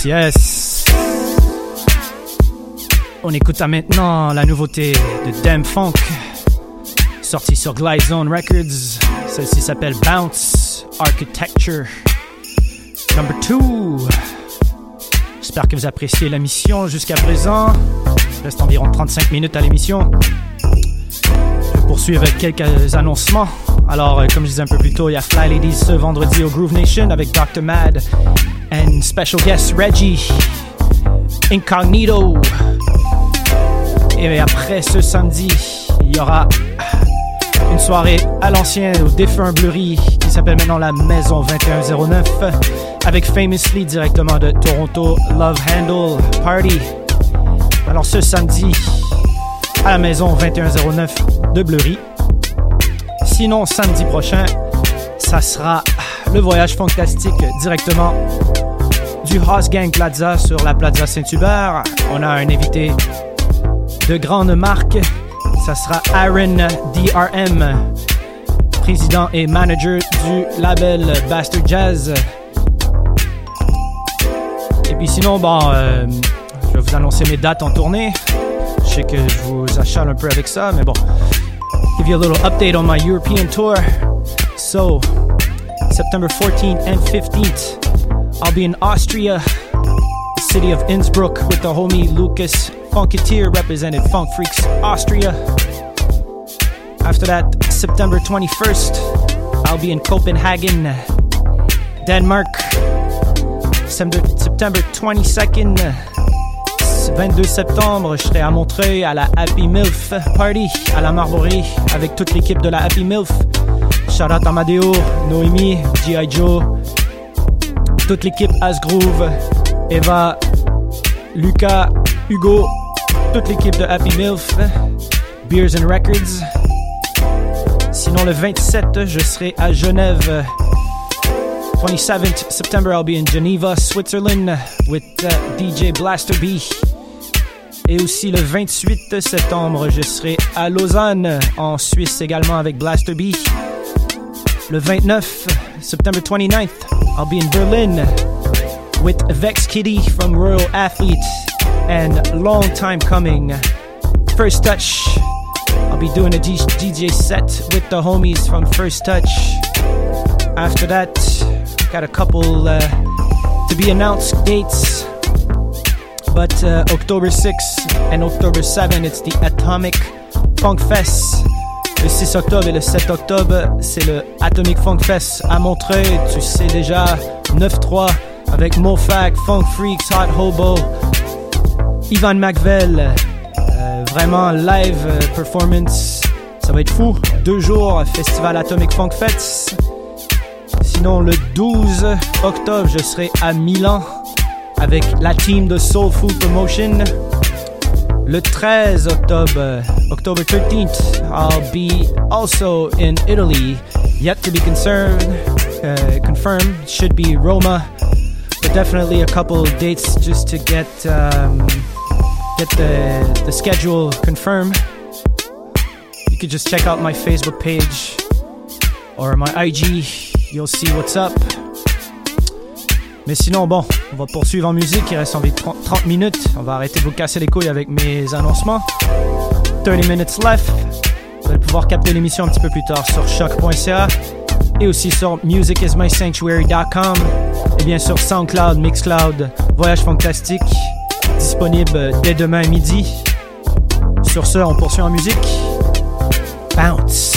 Yes. On écoute à maintenant la nouveauté de Damn Funk, sortie sur Glide Zone Records. Celle-ci s'appelle Bounce Architecture Number two. J'espère que vous appréciez la mission jusqu'à présent. Il reste environ trente-cinq minutes à l'émission. Je vais poursuivre avec quelques annoncements. Alors, comme je disais un peu plus tôt, il y a Fly Ladies ce vendredi au Groove Nation avec docteur Mad and special guest Reggie Incognito. Et après ce samedi, il y aura une soirée à l'ancien au défunt Bleury qui s'appelle maintenant la Maison vingt et un zéro neuf avec Famously directement de Toronto, Love Handle Party. Alors ce samedi à la Maison vingt et un zéro neuf de Bleury. Sinon samedi prochain, ça sera le voyage fantastique directement du House Gang Plaza sur la Plaza Saint-Hubert. On a un invité de grande marque. Ça sera Aaron D R M, président et manager du label Bastard Jazz. Et puis sinon, bon, euh, je vais vous annoncer mes dates en tournée. Je sais que je vous achale un peu avec ça, mais bon. Give you a little update on my European tour. So, September fourteenth and fifteenth, I'll be in Austria, the city of Innsbruck, with the homie Lucas Funketeer, represented Funk Freaks Austria. After that, September twenty-first, I'll be in Copenhagen, Denmark. September twenty-second, vingt-deux septembre, je serai à Montreuil à la Happy Milf Party à la Marborie avec toute l'équipe de la Happy Milf. Shout out Amadeo, Noémie, G I Joe, toute l'équipe Asgroove, Eva, Lucas, Hugo, toute l'équipe de Happy Milf, Beers and Records. Sinon le vingt-sept, je serai à Genève. twenty-seventh September, I'll be in Geneva, Switzerland with uh, D J Blaster B. Et aussi le vingt-huit septembre, je serai à Lausanne, en Suisse également avec Blaster B. Le vingt-neuf September twenty-ninth, I'll be in Berlin with Vex Kitty from Royal Athlete and long time coming, First Touch. I'll be doing a D J set with the homies from First Touch. After that, got a couple uh, to be announced dates, but uh, October sixth and October seventh, it's the Atomic Funk Fest. Le six octobre et le sept octobre, c'est le Atomic Funk Fest à Montreuil. Tu sais déjà, neuf trois avec Mofac, Funk Freaks, Hot Hobo, Ivan McVell. Euh, vraiment live euh, performance. Ça va être fou. Deux jours, Festival Atomic Funk Fest. Sinon, le douze octobre, je serai à Milan avec la team de Soul Food Promotion. Le treize octobre, October thirteenth, I'll be also in Italy. Yet to be concerned, uh, confirmed. Should be Roma, but definitely a couple of dates just to get um, get the the schedule confirmed. You could just check out my Facebook page or my I G. You'll see what's up. Mais sinon, bon, on va poursuivre en musique. Il reste environ trente minutes. On va arrêter de vous casser les couilles avec mes annoncements. thirty minutes left. Vous allez pouvoir capter l'émission un petit peu plus tard sur choc point c a et aussi sur music is my sanctuary dot com et bien sûr SoundCloud, Mixcloud, Voyage Fantastique, disponible dès demain midi. Sur ce, on poursuit en musique. Bounce.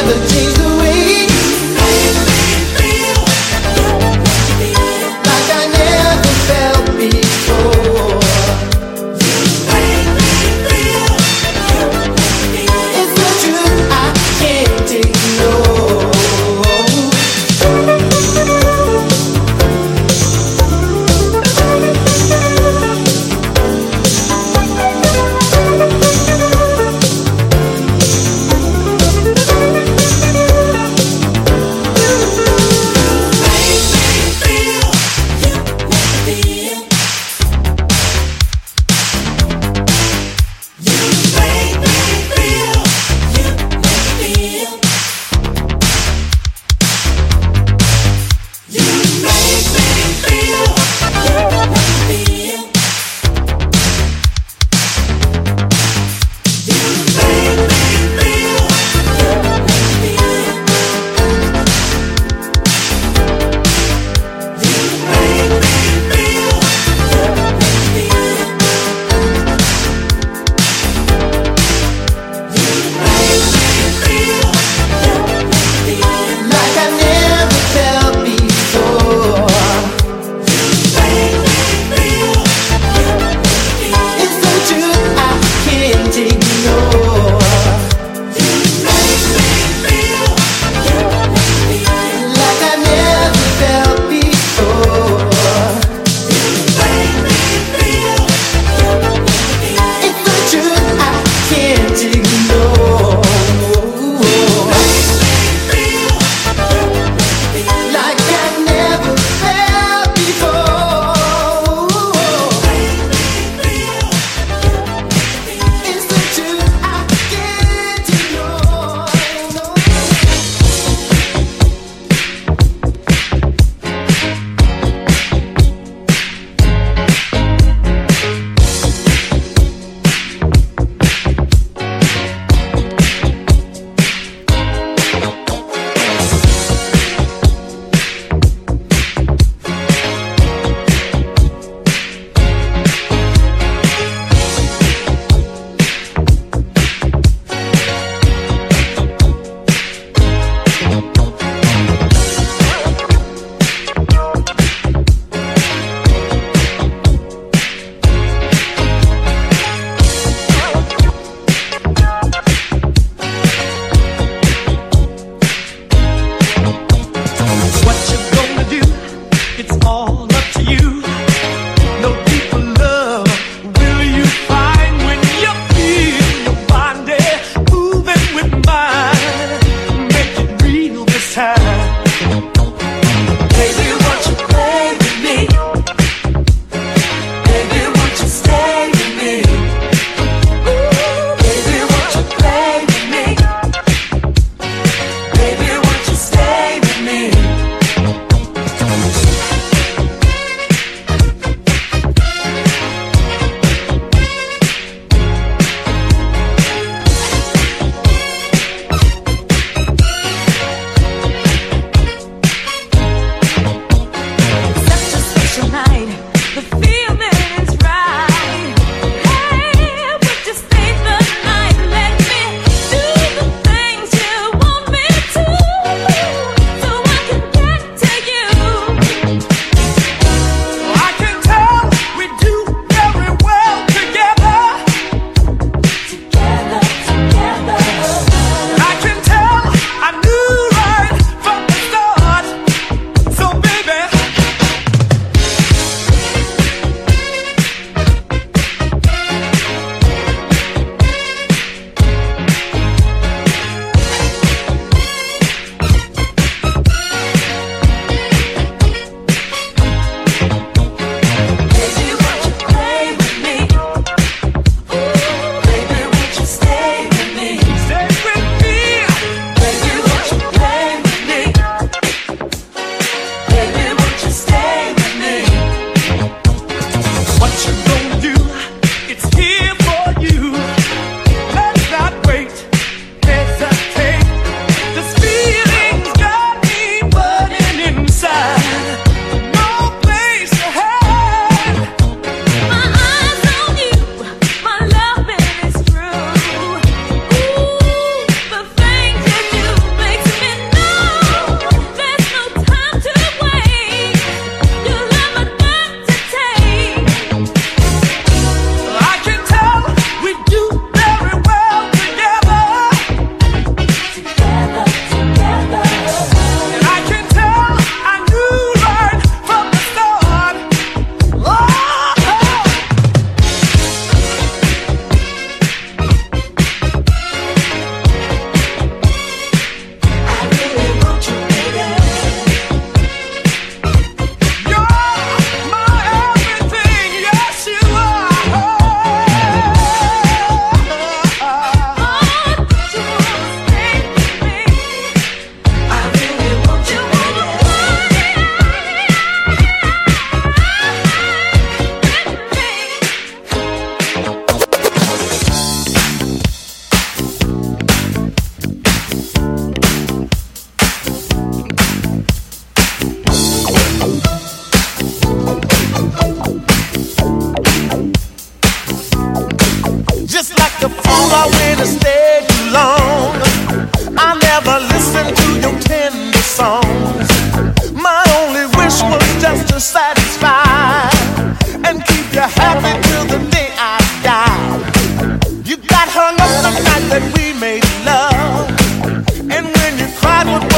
never change the way like I never felt before. It's the truth I can't ignore.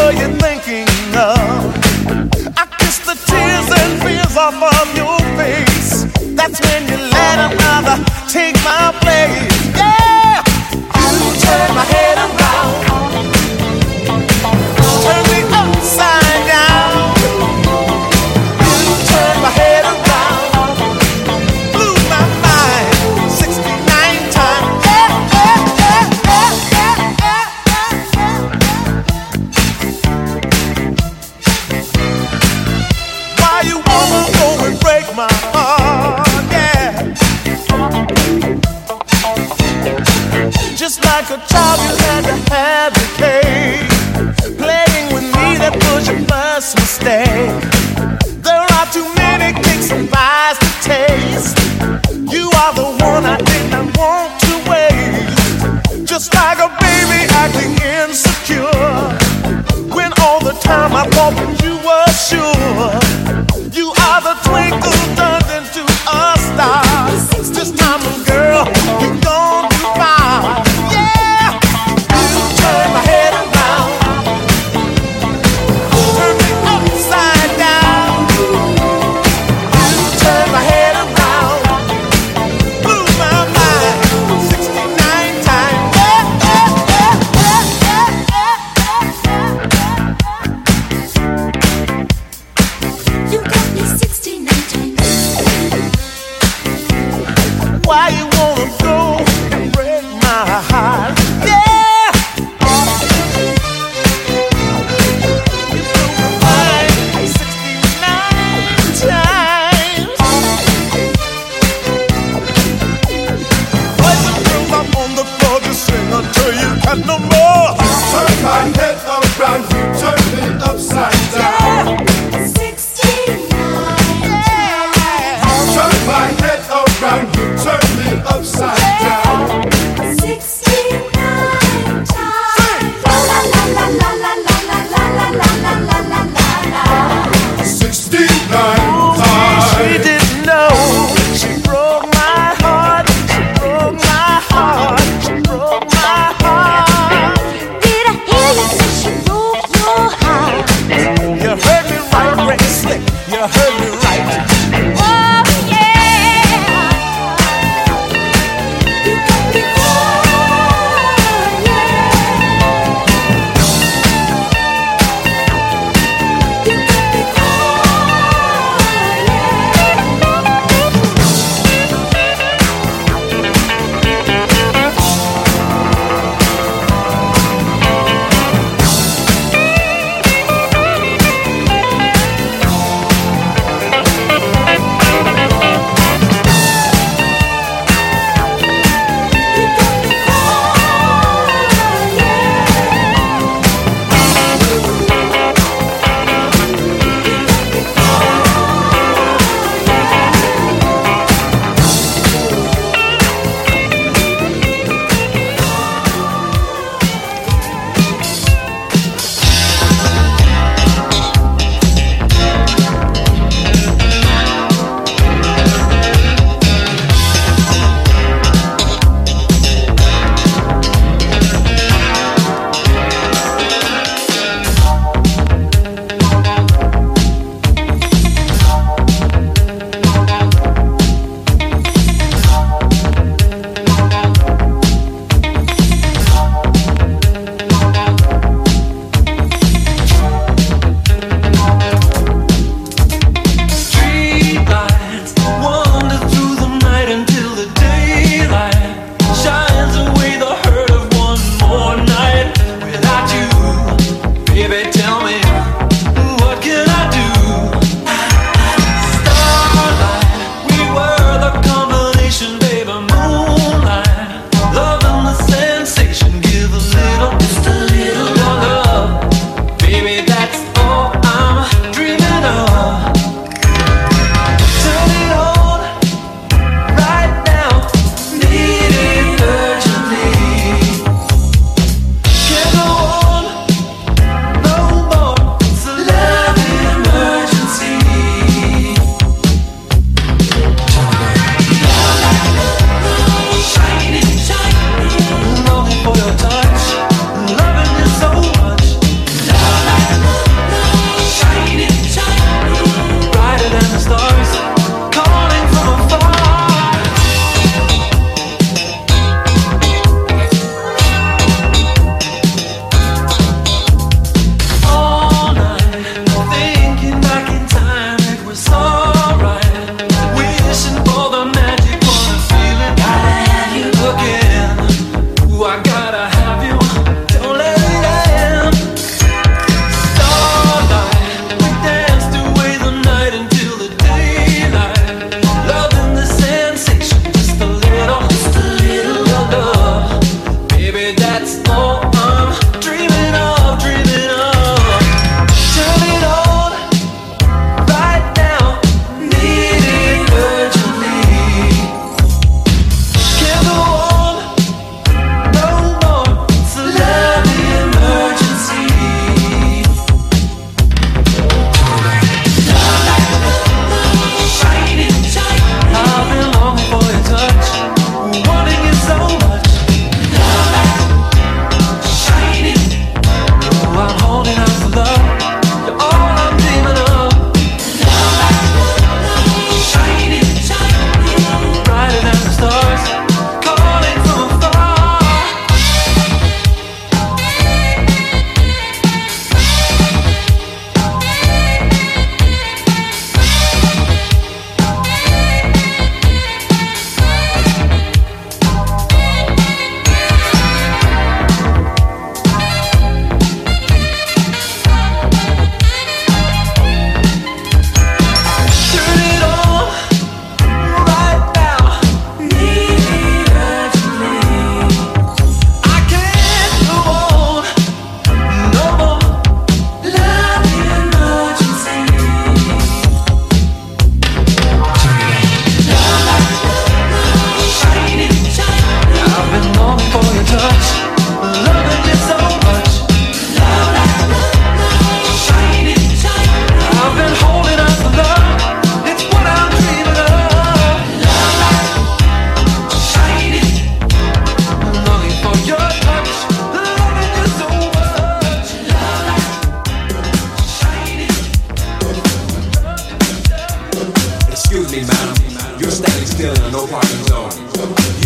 were you thinking of? I kiss the tears and fears off of your face. That's when you let another take my place. Yeah, you turn my head around, turn me upside down. You turn my head around, blew my mind sixty-nine times. Yeah, yeah, yeah, yeah, yeah, yeah, yeah, yeah. Why you wanna go and break my heart? Yeah, just like a child you had to have your cake. Playing with me, that was your first mistake. There are too many cakes and pies to taste. You are the one I did not want to waste. Just like a baby acting insecure, when all the time I thought that you were sure. You are the twinkle turned into a star. This time, girl, you're gone too far. Yeah, you turn my head around, turn me upside down. You turn my head around, blew my mind sixty-nine times. Yeah, yeah, yeah, yeah, yeah, yeah. You got me sixty-nine times. Why you wanna go and break my heart? Yeah, you blew my mind sixty-nine times. Boys and girls up on the floor, just sing until you got no more. Turn my head around, you turn me upside down. sixty-nine. Turn my head around, you turn me upside down. sixty-nine times. La la la la la la la la la la la la la. Sixty-nine She times. didn't know. She broke my heart. She broke my heart. She broke my heart. Did I hear you say she broke your heart? You heard me right, Rick Slick. You heard me right. Oh yeah.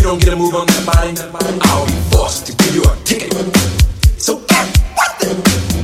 don't get a move on that body, I'll be forced to give you a ticket. So get what the?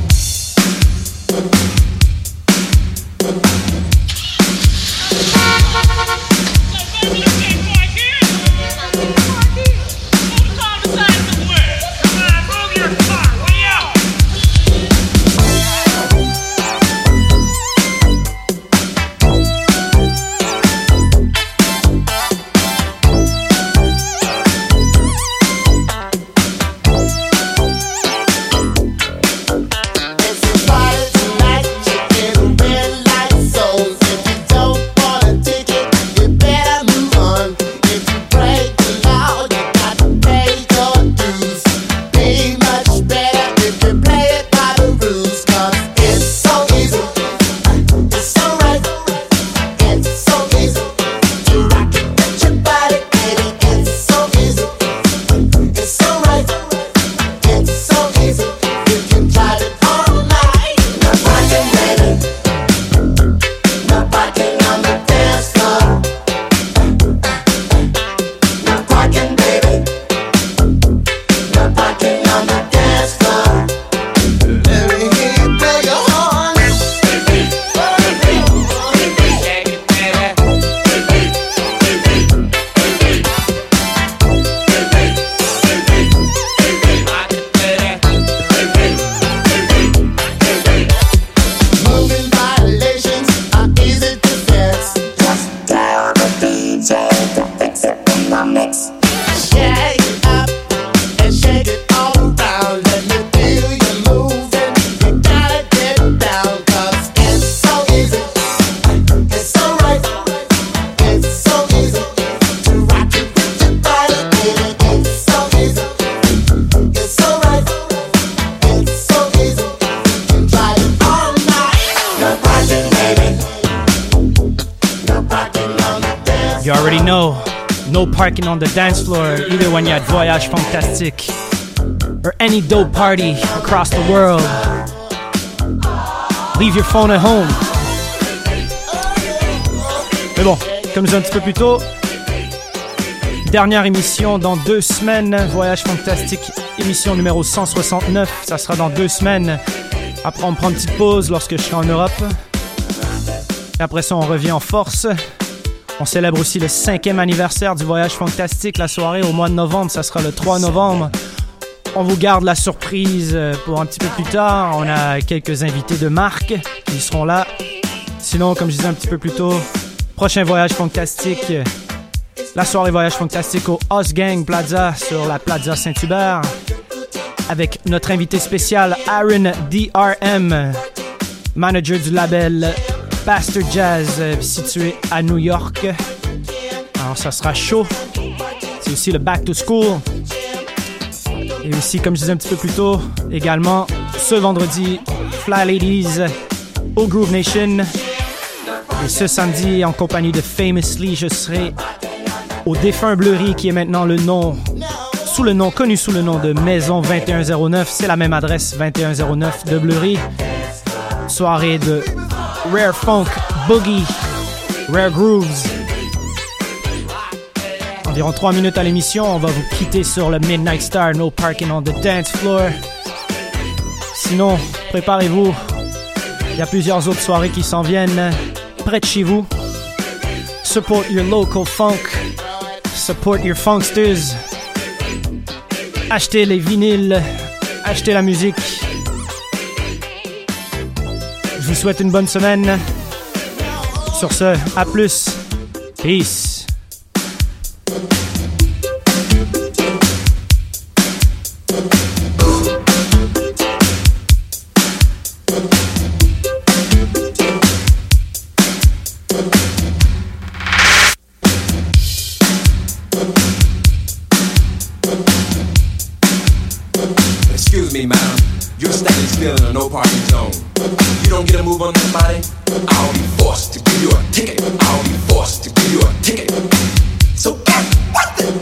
Parking on the dance floor, either when you're at Voyage Fantastique or any dope party across the world. Leave your phone at home. Mais bon, comme je disais un petit peu plus tôt, dernière émission dans deux semaines, Voyage Fantastique, émission numéro cent soixante-neuf, ça sera dans deux semaines. Après, on prend une petite pause lorsque je serai en Europe. Et après ça, on revient en force. On célèbre aussi le cinquième anniversaire du Voyage Fantastique. La soirée au mois de novembre, ça sera le trois novembre. On vous garde la surprise pour un petit peu plus tard. On a quelques invités de marque qui seront là. Sinon, comme je disais un petit peu plus tôt, prochain Voyage Fantastique, la soirée Voyage Fantastique au Osgang Plaza sur la Plaza Saint-Hubert avec notre invité spécial Aaron D R M, manager du label Bastard Jazz, situé à New York. Alors ça sera chaud. C'est aussi le Back to School. Et aussi, comme je disais un petit peu plus tôt, également ce vendredi, Fly Ladies au Groove Nation. Et ce samedi, en compagnie de Famously, je serai au Défunt Bleury, qui est maintenant le nom, sous le nom, connu sous le nom de Maison vingt et un zéro neuf. C'est la même adresse, vingt et un zéro neuf de Bleury. Soirée de Rare Funk, Boogie, Rare Grooves. Environ trois minutes à l'émission, on va vous quitter sur le Midnight Star, No Parking on the Dance Floor. Sinon, préparez-vous, il y a plusieurs autres soirées qui s'en viennent près de chez vous. Support your local funk, support your funksters. Achetez les vinyles, achetez la musique. Je vous souhaite une bonne semaine. Sur ce, à plus. Peace. Excuse me, ma'am. You're standing still in a no parking zone. You don't get a move on that body, I'll be forced to give you a ticket. I'll be forced to give you a ticket. So get what the?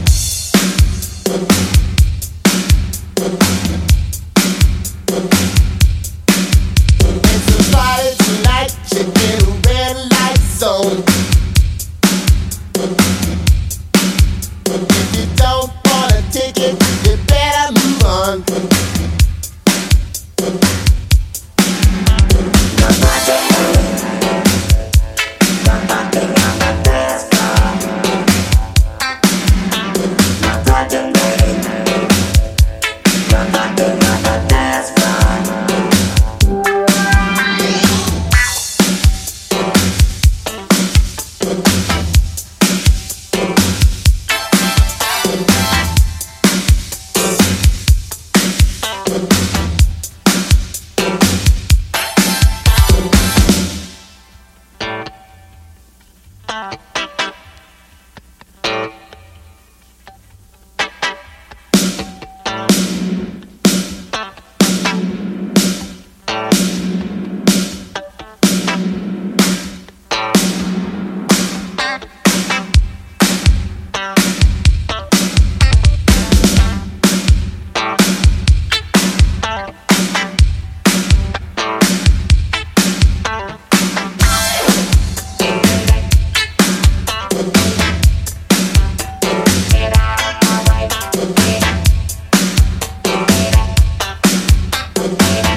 It's a Friday tonight, you get a red light zone. If you Bye.